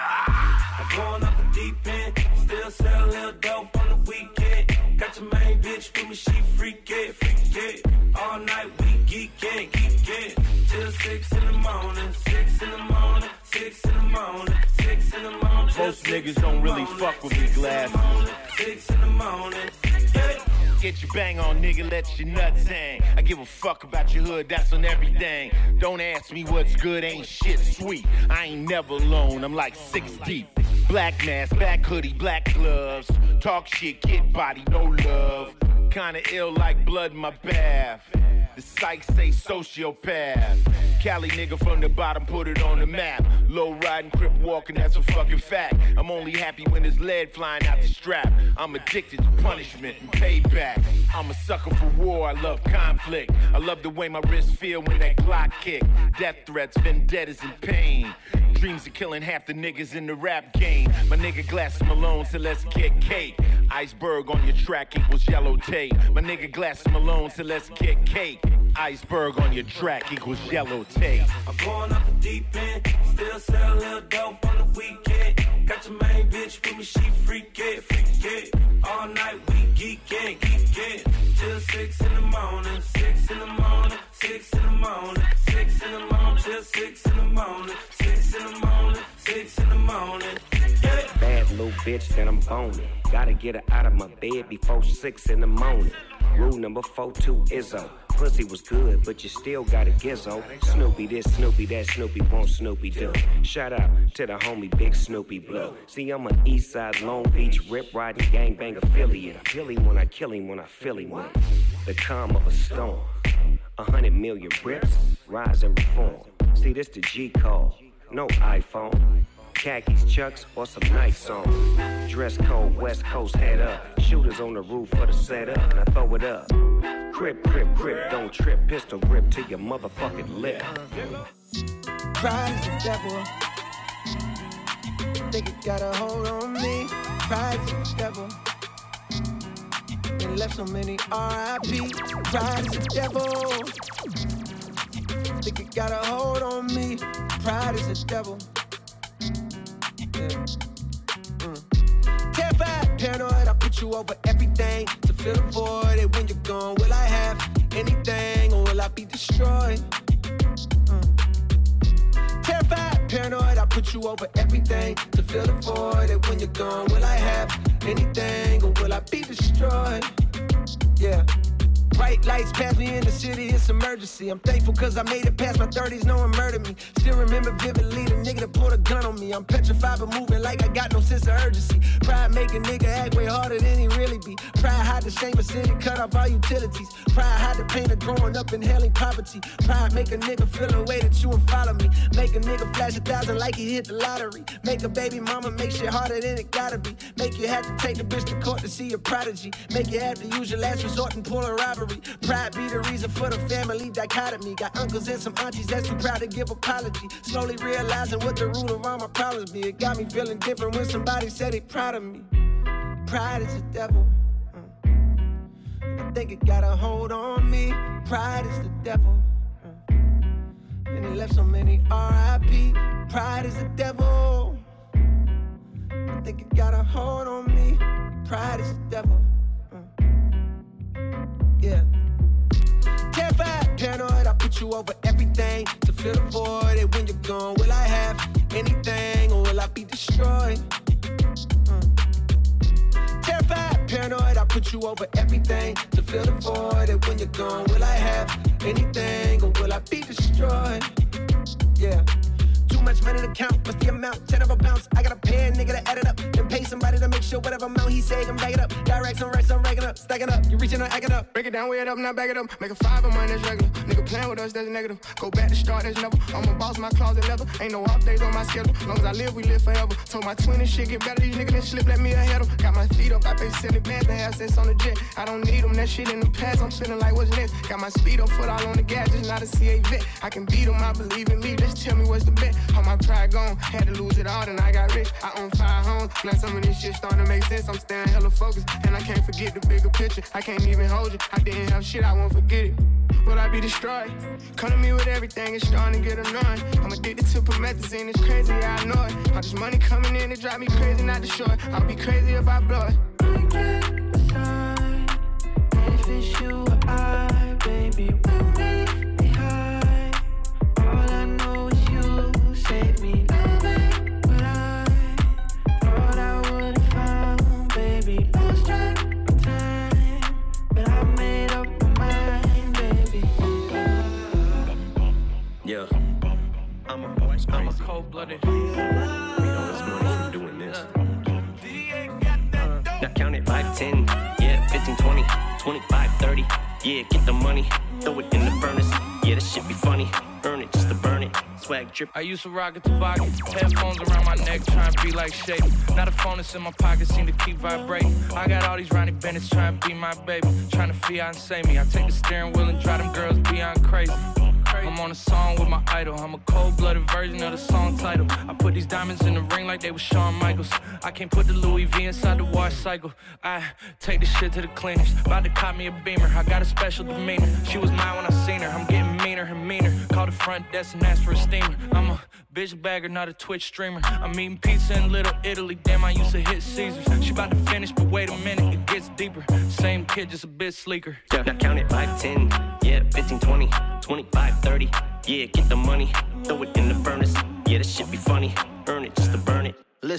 Ah. I'm going up the deep end. Still sell a little dope on the weekend. Got your main bitch with me, she freak it, freak it. All night we geek it, geek it. Till six in the morning, six in the morning, six in the morning, six in the morning. Most niggas don't really fuck with me, Glass. Six in the morning, yeah. Get your bang on, nigga, let your nuts hang. I give a fuck about your hood, that's on everything. Don't ask me what's good, ain't shit sweet. I ain't never alone, I'm like six deep. Black mask, black hoodie, black gloves. Talk shit, get body, no love. Kinda ill like blood in my bath. The psych say sociopath. Cali nigga from the bottom, put it on the map. Low riding, crip walking, that's a fucking fact. I'm only happy when there's lead flying out the strap. I'm addicted to punishment and payback. I'm a sucker for war, I love conflict. I love the way my wrists feel when that Glock kick. Death threats, vendettas, and pain. Dreams of killing half the niggas in the rap game. My nigga Glass Malone said let's get cake. Iceberg on your track equals yellow tape. My nigga Glass Malone said let's get cake. Iceberg on your track equals yellow tape. I'm going up the deep end. Still sell a little dope on the weekend. Got your main bitch with me, she freak it, freak it. All night we geek it, geek it. Till six in the morning, six in the morning, six in the morning, six in the morning, till six in the morning, six in the morning, six in the morning. Yeah. Bad little bitch that I'm boning. Gotta get her out of my bed before six in the morning. Rule number four, two, Izzo. Pussy was good, but you still got a gizzo. Snoopy this, Snoopy that, Snoopy won't, Snoopy do. Shout out to the homie Big Snoopy Blue. See, I'm an East Side Long Beach rip riding gangbang affiliate. I kill him when I kill him when I feel him with the calm of a storm. A hundred million rips, rise and reform. See, this the G call, no iPhone. Khakis, Chucks, or some nice songs. Dress code, West Coast, head up. Shooters on the roof for the setup, and I throw it up. Crip, crip, crip, don't trip. Pistol grip to your motherfucking lip. Pride is the devil. Think it got a hold on me. Pride is the devil. And left so many R I P. Pride is the devil. Think it got a hold on me. Pride is the devil. Yeah. Mm. Terrified, paranoid, I put you over everything to fill the void. And when you're gone, will I have anything or will I be destroyed? Mm. Terrified, paranoid, I put you over everything to fill the void. And when you're gone, will I have anything or will I be destroyed? Yeah. Bright lights pass me in the city, it's emergency. I'm thankful cause I made it past my thirties, no one murdered me. Still remember vividly the nigga that pulled a gun on me. I'm petrified but moving like I got no sense of urgency. Pride make a nigga act way harder than he really be. Pride hide the shame of sin and cut off all utilities. Pride hide the pain of growing up in hailing poverty. Pride make a nigga feel the way that you and follow me. Make a nigga flash a thousand like he hit the lottery. Make a baby mama make shit harder than it gotta be. Make you have to take the bitch to court to see your prodigy. Make you have to use your last resort and pull a robbery. Pride be the reason for the family dichotomy. Got uncles and some aunties that's too proud to give apology. Slowly realizing what the root of all my problems be. It got me feeling different when somebody said they proud of me. Pride is the devil. Mm. I think it got a hold on me. Pride is the devil. Mm. And it left so many R I P. Pride is the devil. I think it got a hold on me. Pride is the devil. Mm. Yeah. Terrified, paranoid, I put you over everything to fill the void. And when you're gone, will I have anything or will I be destroyed? Mm. Terrified, paranoid, I put you over everything to fill the void. And when you're gone, will I have anything or will I be destroyed? Yeah. Too much money to count, what's the amount? Ten of a bounce, I gotta pay a nigga to add it up. Then pay somebody to make sure whatever amount he say, I'm back it up. Directs on racks, I'm racking up, stacking up. You reaching or acting up. Break it down, weigh it up, now back it up. Make a five of mine, that's regular. Nigga playing with us, that's negative. Go back to start, that's never. I'm a boss, my closet leather. Ain't no off days on my schedule. Long as I live, we live forever. Told my twin and shit get better, these niggas that slip, let me ahead of. Got my feet up, I pay seventy bands to have sex on the jet. I don't need them, that shit in the past, I'm feeling like what's next. Got my speed up, foot all on the gas, just not a C A vet. I can beat them, I believe in me, just tell me what's the bet. All my pride gone. Had to lose it all, then I got rich. I own five homes. Now some of this shit starting to make sense. I'm staying hella focused, and I can't forget the bigger picture. I can't even hold you. I didn't have shit, I won't forget it. Will I be destroyed? Come to me with everything, it's starting to get annoying. I'm addicted to promethazine, it's crazy, yeah, I know it. All this money coming in, it drive me crazy, not to show it. I'll be crazy if I blow it. I can't decide if it's you or I, baby. We'll be high. All I know is you save me. Yeah, I'm a boy, I'm a cold-blooded. We know it's money from doing this. Now count it, five, ten, yeah, fifteen, twenty, twenty-five, thirty. Yeah, get the money, throw it in the furnace. Yeah, this shit be funny, earn it just to burn it. Swag drip. I used to rock a toboggan, headphones around my neck, trying to be like Shay. Now the phone that's in my pocket seem to keep vibrating. I got all these Ronnie Bennett's trying to be my baby, trying to fiance me. I take the steering wheel and drive them girls beyond crazy. I'm on a song with my idol. I'm a cold-blooded version of the song title. I put these diamonds in the ring like they were Shawn Michaels. I can't put the Louis V inside the wash cycle. I take this shit to the cleaners. About to cop me a Beamer. I got a special demeanor. She was mine when I seen her. I'm getting meaner and meaner. Call the front desk and ask for a steamer. I'm a bitch bagger, not a Twitch streamer. I'm eating pizza in Little Italy. Damn, I used to hit Caesars. She about to finish, but wait a minute, it gets deeper. Same kid, just a bit sleeker. Yeah, now count it, five, ten, yeah, fifteen, twenty, twenty-five, thirty. Yeah, get the money, throw it in the furnace. Yeah, this shit be funny, earn it just to burn it. Listen,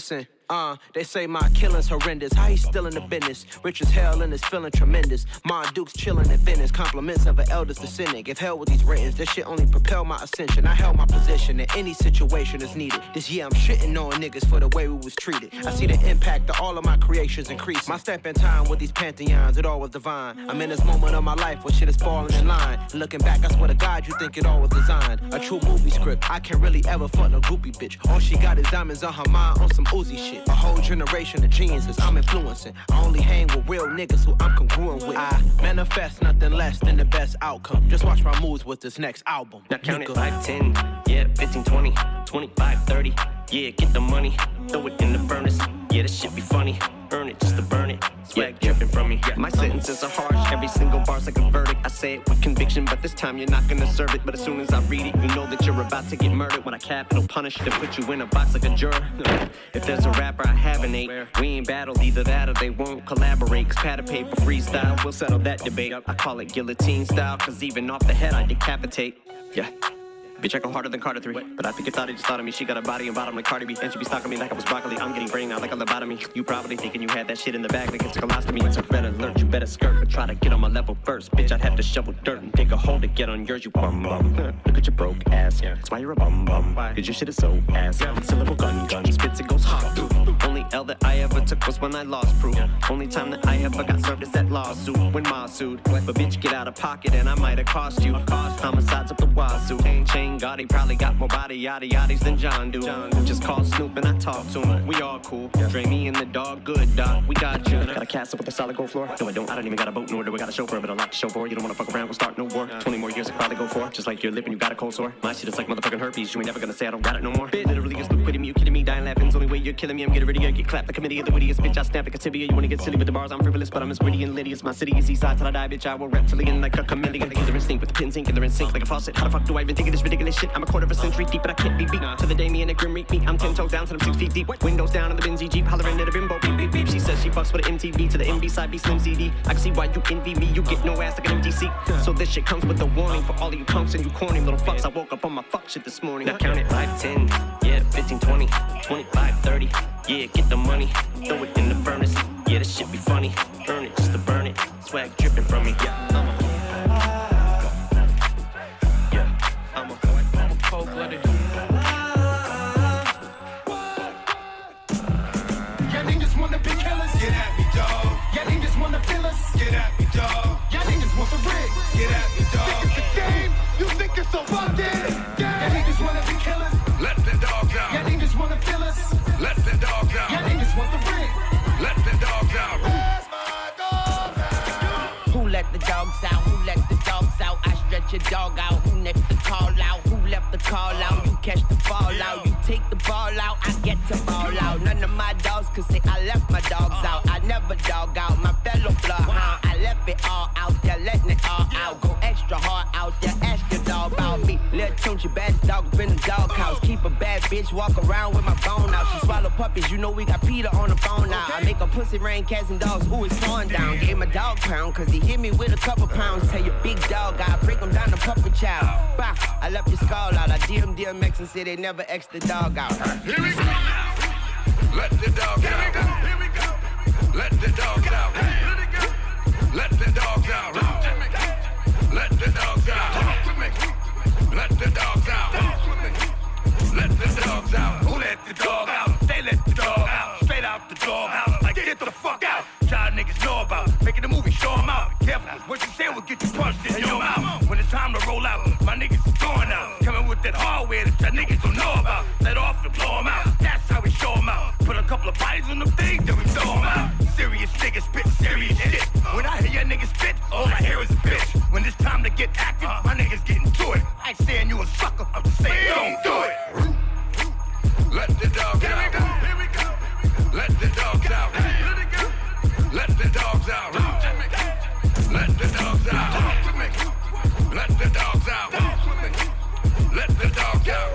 Uh, they say my killing's horrendous. How he still in the business? Rich as hell and is feeling tremendous. Ma Duke's chilling in Venice. Compliments of an eldest descendant. If hell with these ratings, this shit only propel my ascension. I held my position in any situation is needed. This year I'm shitting on niggas for the way we was treated. I see the impact of all of my creations increase. My step in time with these pantheons, it all was divine. I'm in this moment of my life where shit is falling in line. Looking back, I swear to God, you think it all was designed. A true movie script. I can't really ever fuck no groupie bitch. All she got is diamonds on her mind on some Uzi shit. A whole generation of geniuses I'm influencing. I only hang with real niggas who I'm congruent with. I manifest nothing less than the best outcome. Just watch my moves with this next album. Now count it five, ten, yeah, fifteen, twenty, twenty-five, thirty. Yeah, get the money, throw it in the furnace. Yeah, this shit be funny. Earn it just to burn it. Swag dripping from me. My sentences are harsh. Every single bar's like a verdict. I say it with conviction, but this time you're not gonna serve it. But as soon as I read it, you know that you're about to get murdered. When I capital punish, then put you in a box like a juror. If there's a rapper I haven't ate, we ain't battled either that or they won't collaborate. Cause pad of paper freestyle, we'll settle that debate. I call it guillotine style, cause even off the head I decapitate. Yeah. Bitch, I go harder than Carter three. But I think you thought it just thought of me. She got a body and bottom like Cardi B. And she be stalking me like I was broccoli. I'm getting brain out like a lobotomy. You probably thinking you had that shit in the bag like it's a colostomy. It's a red alert, you better skirt. But try to get on my level first. Bitch, I'd have to shovel dirt and dig a hole to get on yours, you bum bum. Look at your broke ass. That's why you're a bum bum. Cause your shit is so ass. It's a little gun gun. Spits it goes hot through. Only L that I ever took was when I lost proof. Only time that I ever got served is that lawsuit when Ma sued. But bitch, get out of pocket and I might have cost you. Homicides up the wazoo. Chain Gotti probably got more body yaddy yaddies than John do. Just call Snoop and I talk to him. We all cool. Dre me and the dog good, doc. We got you. Got a castle with a solid gold floor? No, I don't. I don't even got a boat, nor do I got a chauffeur, but I like to show for. You don't wanna fuck around, we'll start no war. twenty more years I probably go for. Just like your lip and you got a cold sore. My shit is like motherfucking herpes. You ain't never gonna say I don't got it no more. Bitch, literally you're still quitting me. You kidding me? Dying laughing's only way you're killing me. I'm getting ready to get clapped. The committee of the wittiest bitch. I snap like a tibia. You wanna get silly with the bars? I'm frivolous, but I'm as witty and litty as my city is east side till I die, bitch. I will reptilian like a chameleon. They're instinct with the pins ink and they're in sync like a faucet. How the fuck do I even think of this ridiculous shit? I'm a quarter of a century deep, but I can't be beat. To the day me and a grim reek me. I'm ten toes down till I'm six feet deep. Windows down in the Benzie Jeep, hollering at a bimbo. Beep beep beep. She says she fucks with an M T V to the M B side be Slim C D. I can see why you envy me. You get no ass like an M T C. So this shit comes with a warning for all of you punks and you corny little fucks. I woke up on my fuck shit this morning. Now count it five, ten, yeah, fifteen, twenty, twenty-five, thirty. Yeah, get the money, throw it in the furnace. Yeah, this shit be funny. Earn it just to burn it. Swag dripping from me. Yeah, I'm a yeah, I'm a I'm a cold-blooded. Y'all niggas wanna be killers? Get at me, dawg. Y'all niggas wanna feel us? Get at me, dawg. Y'all niggas want the rig? Get at me, dawg. Think it's a game? You think it's so fucking game? Y'all niggas wanna be killers? Let the dogs out. Y'all niggas wanna feel us? Let the dogs out. Y'all niggas want the rig? Let the dogs out. Where's my dog out? Who let the dogs out? Who let the dogs out? I stretch your dog out. Who next to call out? Who left the call out? You catch the ball out. You take the ball out. I get to ball out. None of my dogs could say I left my dogs out. I never dog out my fellow bloodhound. I left it all out there, letting it all out. Go extra hard out there. Ask your dog about me. Lil' Tunchi, bad dog, been the dog house. Keep a bad bitch, walk around with my bone out. She swallow puppies, you know we got Peter on the phone now. I make a pussy rain, cats and dogs, ooh, it's torn down. Gave my dog pound, cause he hit me with a couple pounds. Tell your big dog, I break him down to puppet child. Bah, I left your skull out. I D M D M X and say they never X the dog out. Here we go. Let the dog out. Here we go. Let the dog out. Let the dog out. Let the dogs out. Let the dogs out. Let the dogs out. Who let the dog out? They let the dog out. Straight out the dog out. Like get the fuck out. Y'all niggas know about making the movie, show 'em out. Careful, what you say will get you punched in your mouth. When it's time to roll out, my niggas is going out. Coming with that hardware that y'all niggas don't know about. Let off and blow 'em out. That's how we show 'em out. Put a couple of bodies on them things, then we throw 'em out. Serious niggas spit serious shit. When I hear your niggas spit, all I hear is a bitch. When it's time to get active, my niggas getting to it. I ain't saying you a sucker, I'm just saying don't do it. Let the dogs out. Here we go. Here we go. Let the dogs out. Let the dogs out. Let the dogs out. Let the dogs out. Let the dogs out.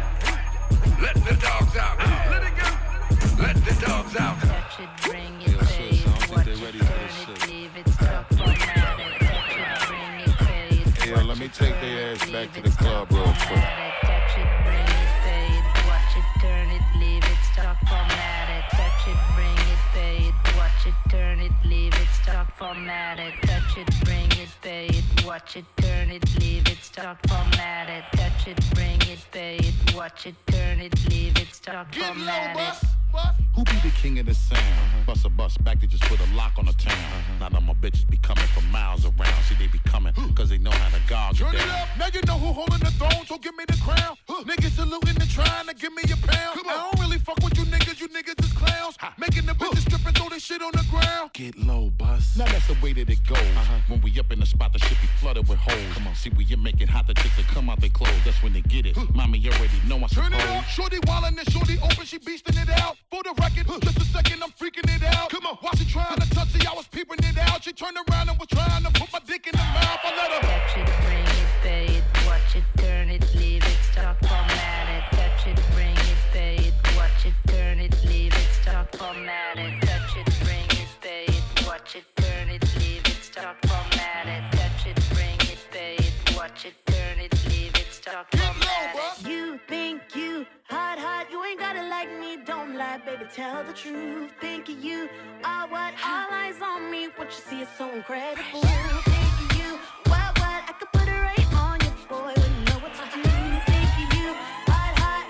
Let the dogs out. Let it go. Let the dogs out. Touch it, bring it, pay it, watch it, turn it, leave it, stop, format it. Touch it, bring it, pay it. Hey, yo, let me take their ass back to the club real quick. Touch it, bring it, pay it, watch it, turn it, leave it, stop, format it. format it, touch it, bring it, pay it, watch it, turn it, leave it, start format it, touch it, bring it, pay it, watch it, turn it, leave it, start format it. Who be the king of the sound? Uh-huh. Bust a bus back, they just put a lock on the town. Uh-huh. Now that my bitches be coming from miles around. See, they be coming, cause they know how to gog Turn it it down. up, now you know who holding the throne, so give me the crown. Huh. Niggas saluting and trying to give me a pound. I don't really fuck with you niggas, you niggas is clowns. Ha. Making the bitches strip and throw this shit on the ground. Get low, bus. Now that's the way that it goes. Uh-huh. When we up in the spot, the shit be flooded with holes. Come on, see, when you make it hot, the chicks that come out they clothes. That's when they get it. Huh. Mommy, you already know I suppose. Turn it up, shorty wildin' and shorty open, she beastin' it out. For the record, huh. Just a second, I'm freaking it out. Come on, while she trying to touch it, I was peeping it out. She turned around and was trying to put my dick in the mouth. I let her touch it, bring it, pay it, watch it, turn it, leave it, start format it. Touch it, bring it, pay it, watch it, turn it, leave it, start format it. Touch it, bring it, pay it, watch it, turn it, leave it, start format it. Touch it, bring it, pay it, watch it, turn it, leave it, start format it. You think you hot, hot, you ain't gotta like me, don't lie, baby, tell the truth. Think you are what, all eyes on me, what you see is so incredible. Think you, what, what, I could put it right on you, boy, wouldn't know what to do. Think you, hot, hot,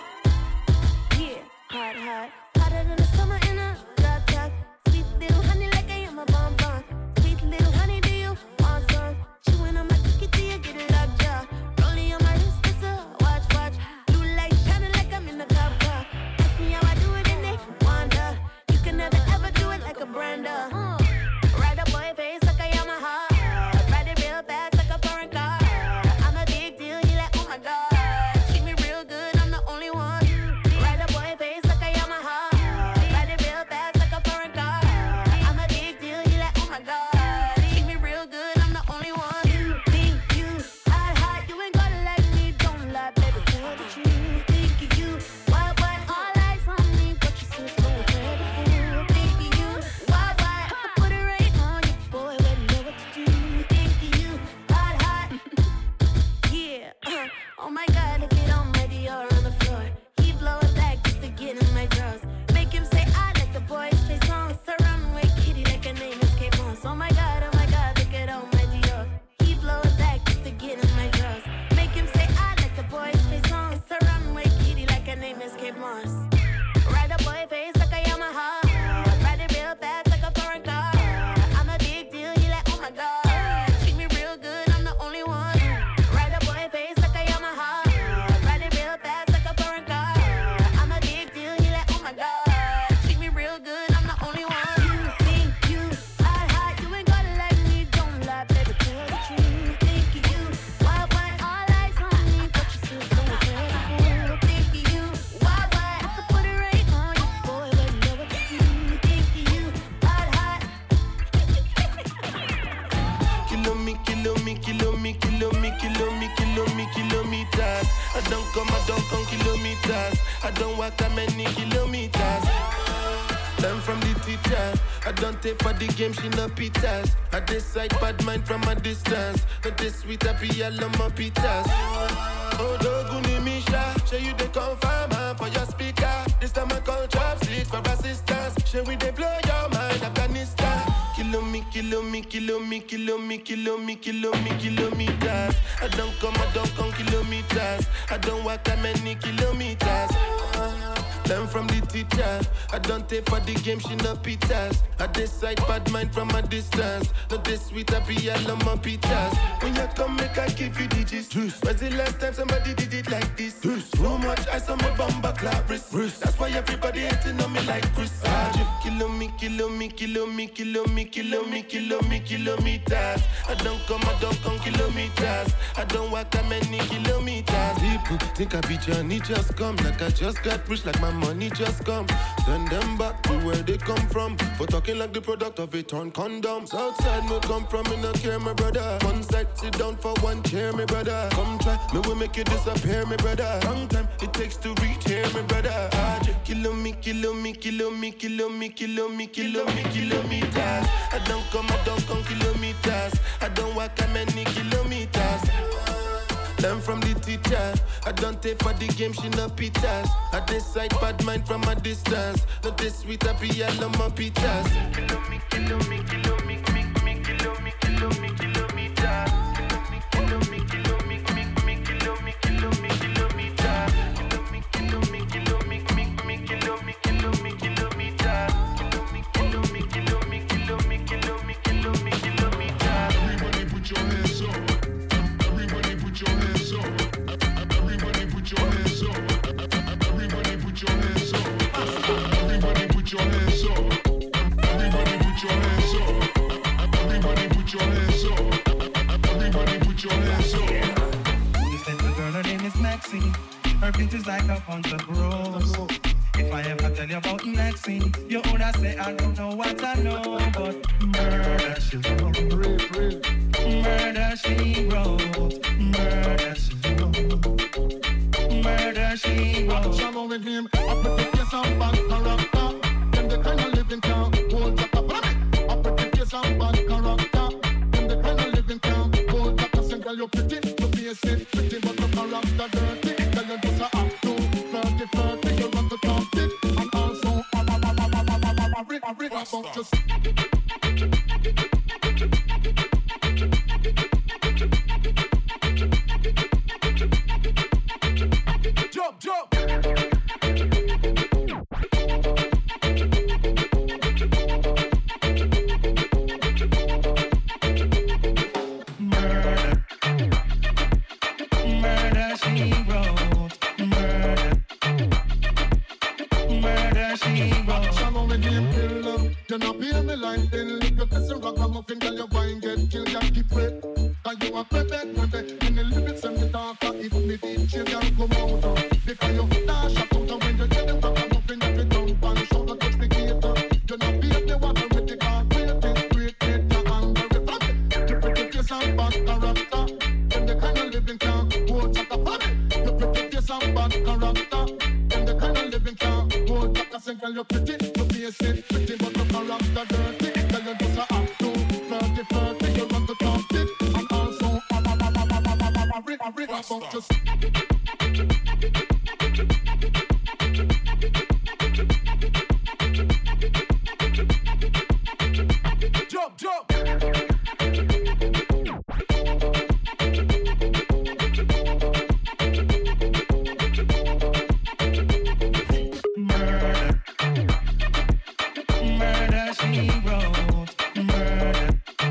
yeah, hot, hot, hotter than the summer in a drop top. Sweet little honey like I am a bonbon. Sweet little honey, do you want some? Chewing on my cookie, do you get it up, yeah? Rolling on my wrist, it's a watch, watch. Blue light shining like I'm in the cop car. Ask me how I do it and they wonder. You can never ever do it like a Brenda. Uh, ride a boy face like I am a heart. Ride it real fast like a foreign car. I'm a big deal, he like, oh my god. Treat me real good, I'm the only one. Ride a boy face like I am a heart. Ride it real fast like a foreign car. I'm a big deal, he like, oh my god. Treat me real good, I'm the only one. You think you hot, hot, you ain't gotta like me, don't lie, baby, tell the truth. Think you, what, what, all eyes on me, but you still so incredible. Think you, what, what, I could put it right on you, boy, wouldn't know what to do. Think you, hot, hot, yeah, uh, oh my god, look it on my Dior on the floor. He blow it back just to get in my drawers. Make him say I like the boys play songs. Surround with kitty like her name is Kate Moss. Oh my god, oh my god, look it on my Dior. He blow it back just to get in my drawers. Make him say I like the boys play songs. Surround with kitty like her name is Kate Moss. Ride a boy face like I am a heart. Ride it real fast like a foreign car. I'm a big deal, he like oh my god. Treat me real good, I'm the only one. Ride a boy face like I am a heart. Ride it real fast like a foreign car. I'm a big deal, he like oh my god. Treat me real good, I'm the only one. You think you hot, hot, you ain't gotta like me, don't lie, baby, tell the truth. Think you, what, what, all eyes on me, but you still so incredible. Think you, what, what, I could put it right on you, boy, wouldn't know what to do. Think you, hot, hot. Kilo me, kilo me, kilo me, kilo me, kilo me, kilo me, kilometers. I don't come, I don't come kilometers. I don't walk that many kilometers. Learn from the teacher. I don't take for the game, she no pitas. I decide bad mind from a distance. But this sweet, I be all on my pitas. Oh, Doguni Misha, show you the confirmer for your speaker. This time I call chopsticks for assistance. Show we they blow your mind, Afghanistan. Kilo me, kilo me, kilo me, kilo me, kilo me, kilo me, kilometers. I don't come, I don't come kilometers. I don't walk that many kilometers. Learn from the teacher. I don't take for the game, she no pitas. I decide bad mind from a distance. Not this sweet, I be all on my pitas. When you come, make I give you digits. When's the last time somebody did it like this? Too much ice on my bumper clap wrist. That's why everybody hating on me like Chris. Kilo me, kilo me, kilo me, kilo me, kilo me, kilo me, kilometers. I don't come, I don't come kilometers. I don't walk that many kilometers. People think I be Johnny, just come. Like I just got rich, like my money just come. Send them back to where they come from. For talking like the product of a torn condom. Outside me come from, me no care, my brother. One side, sit down for one chair, my brother. Come try, me will make you disappear, my brother. Long time it takes to reach here, my brother. Kilo me, kilo me, kilo me, kilo me, kilo me, kilo me, kilometers. I don't come, I don't come kilometers. I don't walk that many kilometers. Learn from the teacher. I don't take for the game, she no pitas. I decide bad mind from a distance. Not this sweet, I be all on my pitas. Kilo me, kilo me, kilo me, me, me, sexy. Her feet is like a bunch of rose. If I ever tell you about Maxine, you woulda say I don't know what I know, but murder she wrote, murder she wrote, murder she wrote, murder she wrote. Trouble with him, I protect you some bad character. Them the kind of living town, hold up a vomit. I protect you some bad character. Them the kind of living town, hold up a single. You're pretty, you face it pretty, but the character dirty. Tell you just a act too flirty, flirty. You run to talk it, and also a a a a a a a a a about just. Jump, jump. Murder, murder she wrote, murder, murder she wrote. Trouble with him, kill up. You not pay me like then. You kiss a ragamuffin, girl, your wine get killed, you keep wet. Cause you a pepe, pepe. In the lyrics and the darker, if me did, you can come out of. Because you dash up out of when you get them ragamuffin, you fit down pan, shoulder touch the gator. You not pay the water with the car, creating, creating, your anger, refund. You pretty face and bad character. Then the kind of living can hold back a funny. You pretty face and bad character. Then the kind of living can hold back a single. You're pretty, you face it pretty, but the character dirty. Tell you just a act too flirty, flirty. You run to talk it, and also a a a a a a a a rig a rig about just. Jump, jump. Murder, murder she wrote, murder,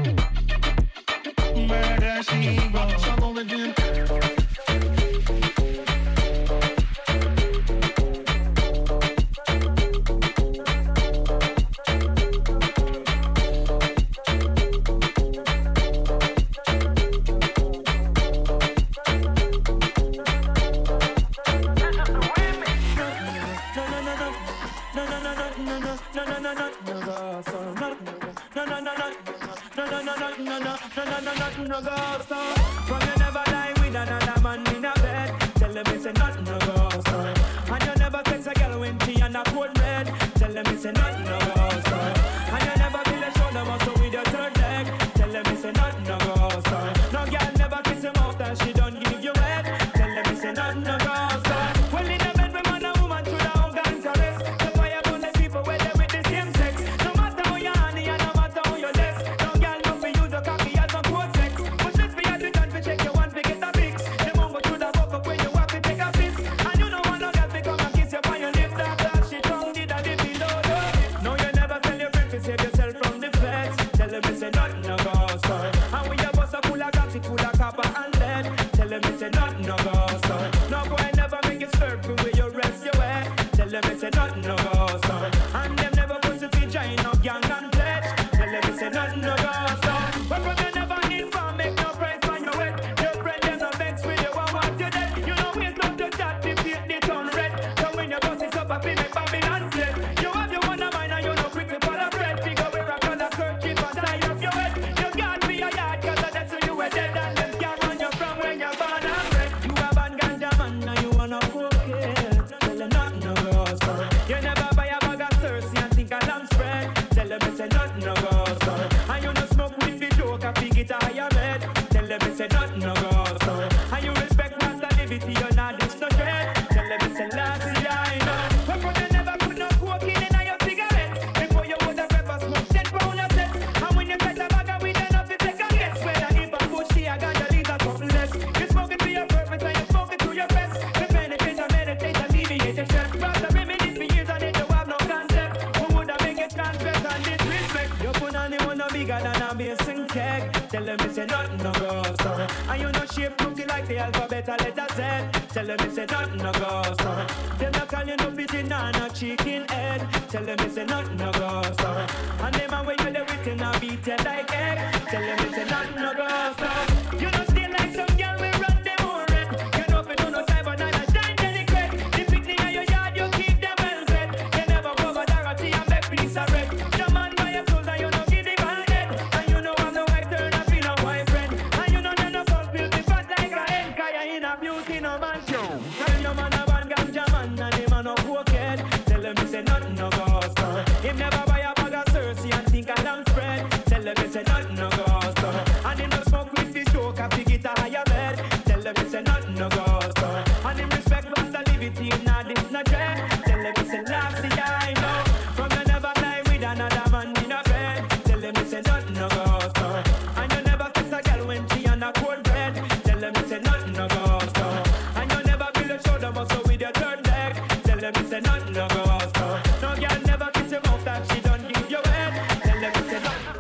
murder she wrote. Trouble with him. From you never lie with another man in a bed. Tell them it's a nothing no go so. And you never text a girl when she on a cold red. Tell them it's a nothing no go so. And you never feel a shoulder muscle with your third leg. Tell them it's a nothing no go so. No girl never kiss him out and she don't give you head. Tell them it's a nothing no go so. Well in a bed with man and woman should have all guns arrest. The fire burn the people where they with the same sex. No matter how you honey and no matter how you less. No girl no for use a cocky as a quote sex. But let's be at the time to check your one to get a fix. The mongo should have woke up when you have to take a piss. And you know one no girl become and kiss you on your lips. That that shit tongue did a dip below the. No you never tell your friend to save yourself from the feds. Tell them it's a nothing no go so. And when your bus a full of gas it full of copper and lead. Tell them it's a nothing no go so. No boy never make you circle where you rest your head. Tell them it's a nothing no go so. And them never put to feed giant up young and pledge. Tell them it's a nothing no go so. But when you never need for make no price on your head. Your friend them no vex with you and want you dead. You know it's not to chat to paint the turn red. So when your boss is up a pin make Babylon fled. You have your one of mine and you know quick to follow bread. Figure where a color kerchief on side of your head. You can't be a yard cause that's who you were dead. And them can't run you from when you're born and bred. You have a ganja man now you wanna cocaine. Tell them nothing no go so. You never buy a bag of thirsty and think a lamb spread. Tell them it's a nothing no go so. And you no smoke with the joke and fig it a higher red. Tell them it's a nothing no go so. And you respect master liberty, you're not this no dread. Tell them it's a lassie, I know. But when you never put no cocaine in your cigarette. Before you would have ever smoked ten pound of sex. And when you get a bag of weed enough to take a guess. Whether if a bushy or ganja leaves a couple less. You smoke it for your purpose and you smoke it to your best. You benefit and meditate, alleviate your stress. Rather reminisce for years and it don't have no concept. Who would have make it confess and disrespect? You put on the one no bigger than a basin keg. Tell them it's a nothing no go so. And you know shape looking like the alphabet a letter Z. Tell them it's a nothing no go so. Them no call you no pigeon or no chicken head. Tell them it's a nothing no go so. And them a when you the written and beat you like egg. Tell them it's a nothing no go so. You know stay like some girl we run them own red. You know if you do no cyber night a beauty no man. Tell your man a van ganja man and him a no cokehead. Tell him he say nothing no go so. Him never buy a bag of Cersei and think a damn spread. Tell him he say nothing no go so. And him no smoke with the stroke and pick it a higher bed. Tell him he say nothing no go so. And him respect Rasta liberty nah this no dread. Tell him he say Lassie I know. From you never lie with another man in a bed. Tell him he say nothing no go so. And you never kiss a girl when she on a cold bread. Tell him he say nothing no go so. And you never build a shoulder muscle with your third leg. Tell him he say nothing no go so. No girl never kiss your mouth that she don't give you head. Tell him he say nothing.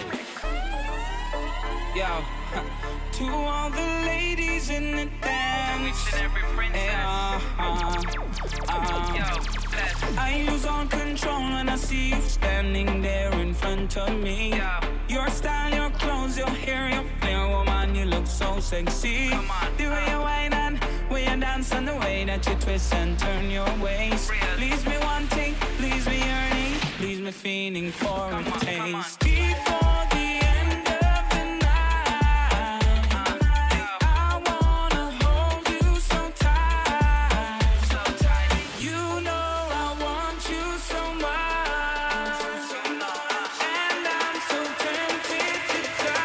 Yo, to all the ladies in the dance, yeah, uh, uh, I lose all control when I see you standing there in front of me. Your style, your clothes, your hair, your flair, woman, you look so sexy. The way you whine and way you dance and the way that you twist and turn your waist. Leaves me wanting, leaves me yearning, leaves me feeling for a taste. Before the end of the night, I wanna hold you so tight. You know I want you so much, and I'm so tempted to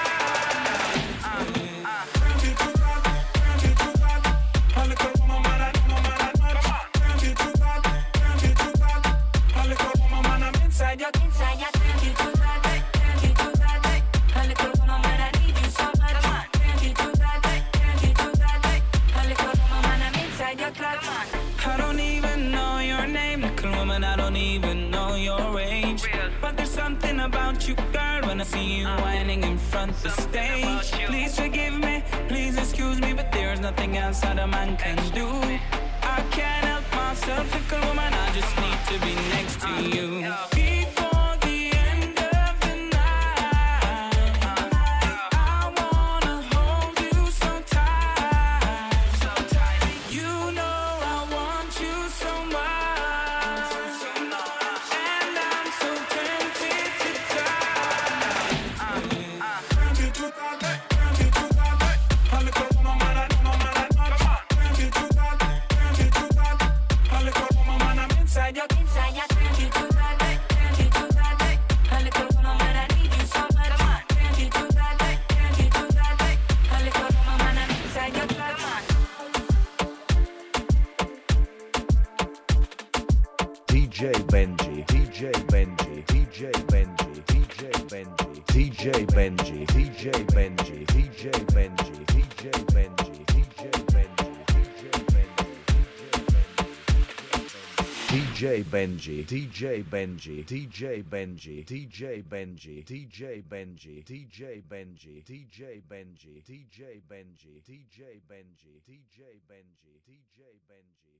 inside your, inside your, you too bad, you too bad, a little woman, I need you so much. You too bad, you too bad, a little woman, I'm inside your clutch. I don't even know your name, little woman, I don't even know your age. But there's something about you, girl, when I see you whining in front of the stage. Please forgive me, please excuse me, but there's nothing else that a man can do. I can't help myself, little woman, I just need to be next to you. Before the end of the night, I wanna hold you so tight. You know I want you so much, and I'm so tempted to inside your, inside your, you too bad, you too bad, a little woman, I need you so much. You too bad, you too bad, a little woman, I'm inside your clutch. D J Benji, D J Benji, D J Benji, D J Benji, D J Benji, D J Benji, D J Benji, D J Benji, D J Benji, D J Benji, D J Benji, D J Benji, D J Benji, D J Benji, D J Benji, D J Benji, D J Benji, D J Benji, D J Benji, D J Benji.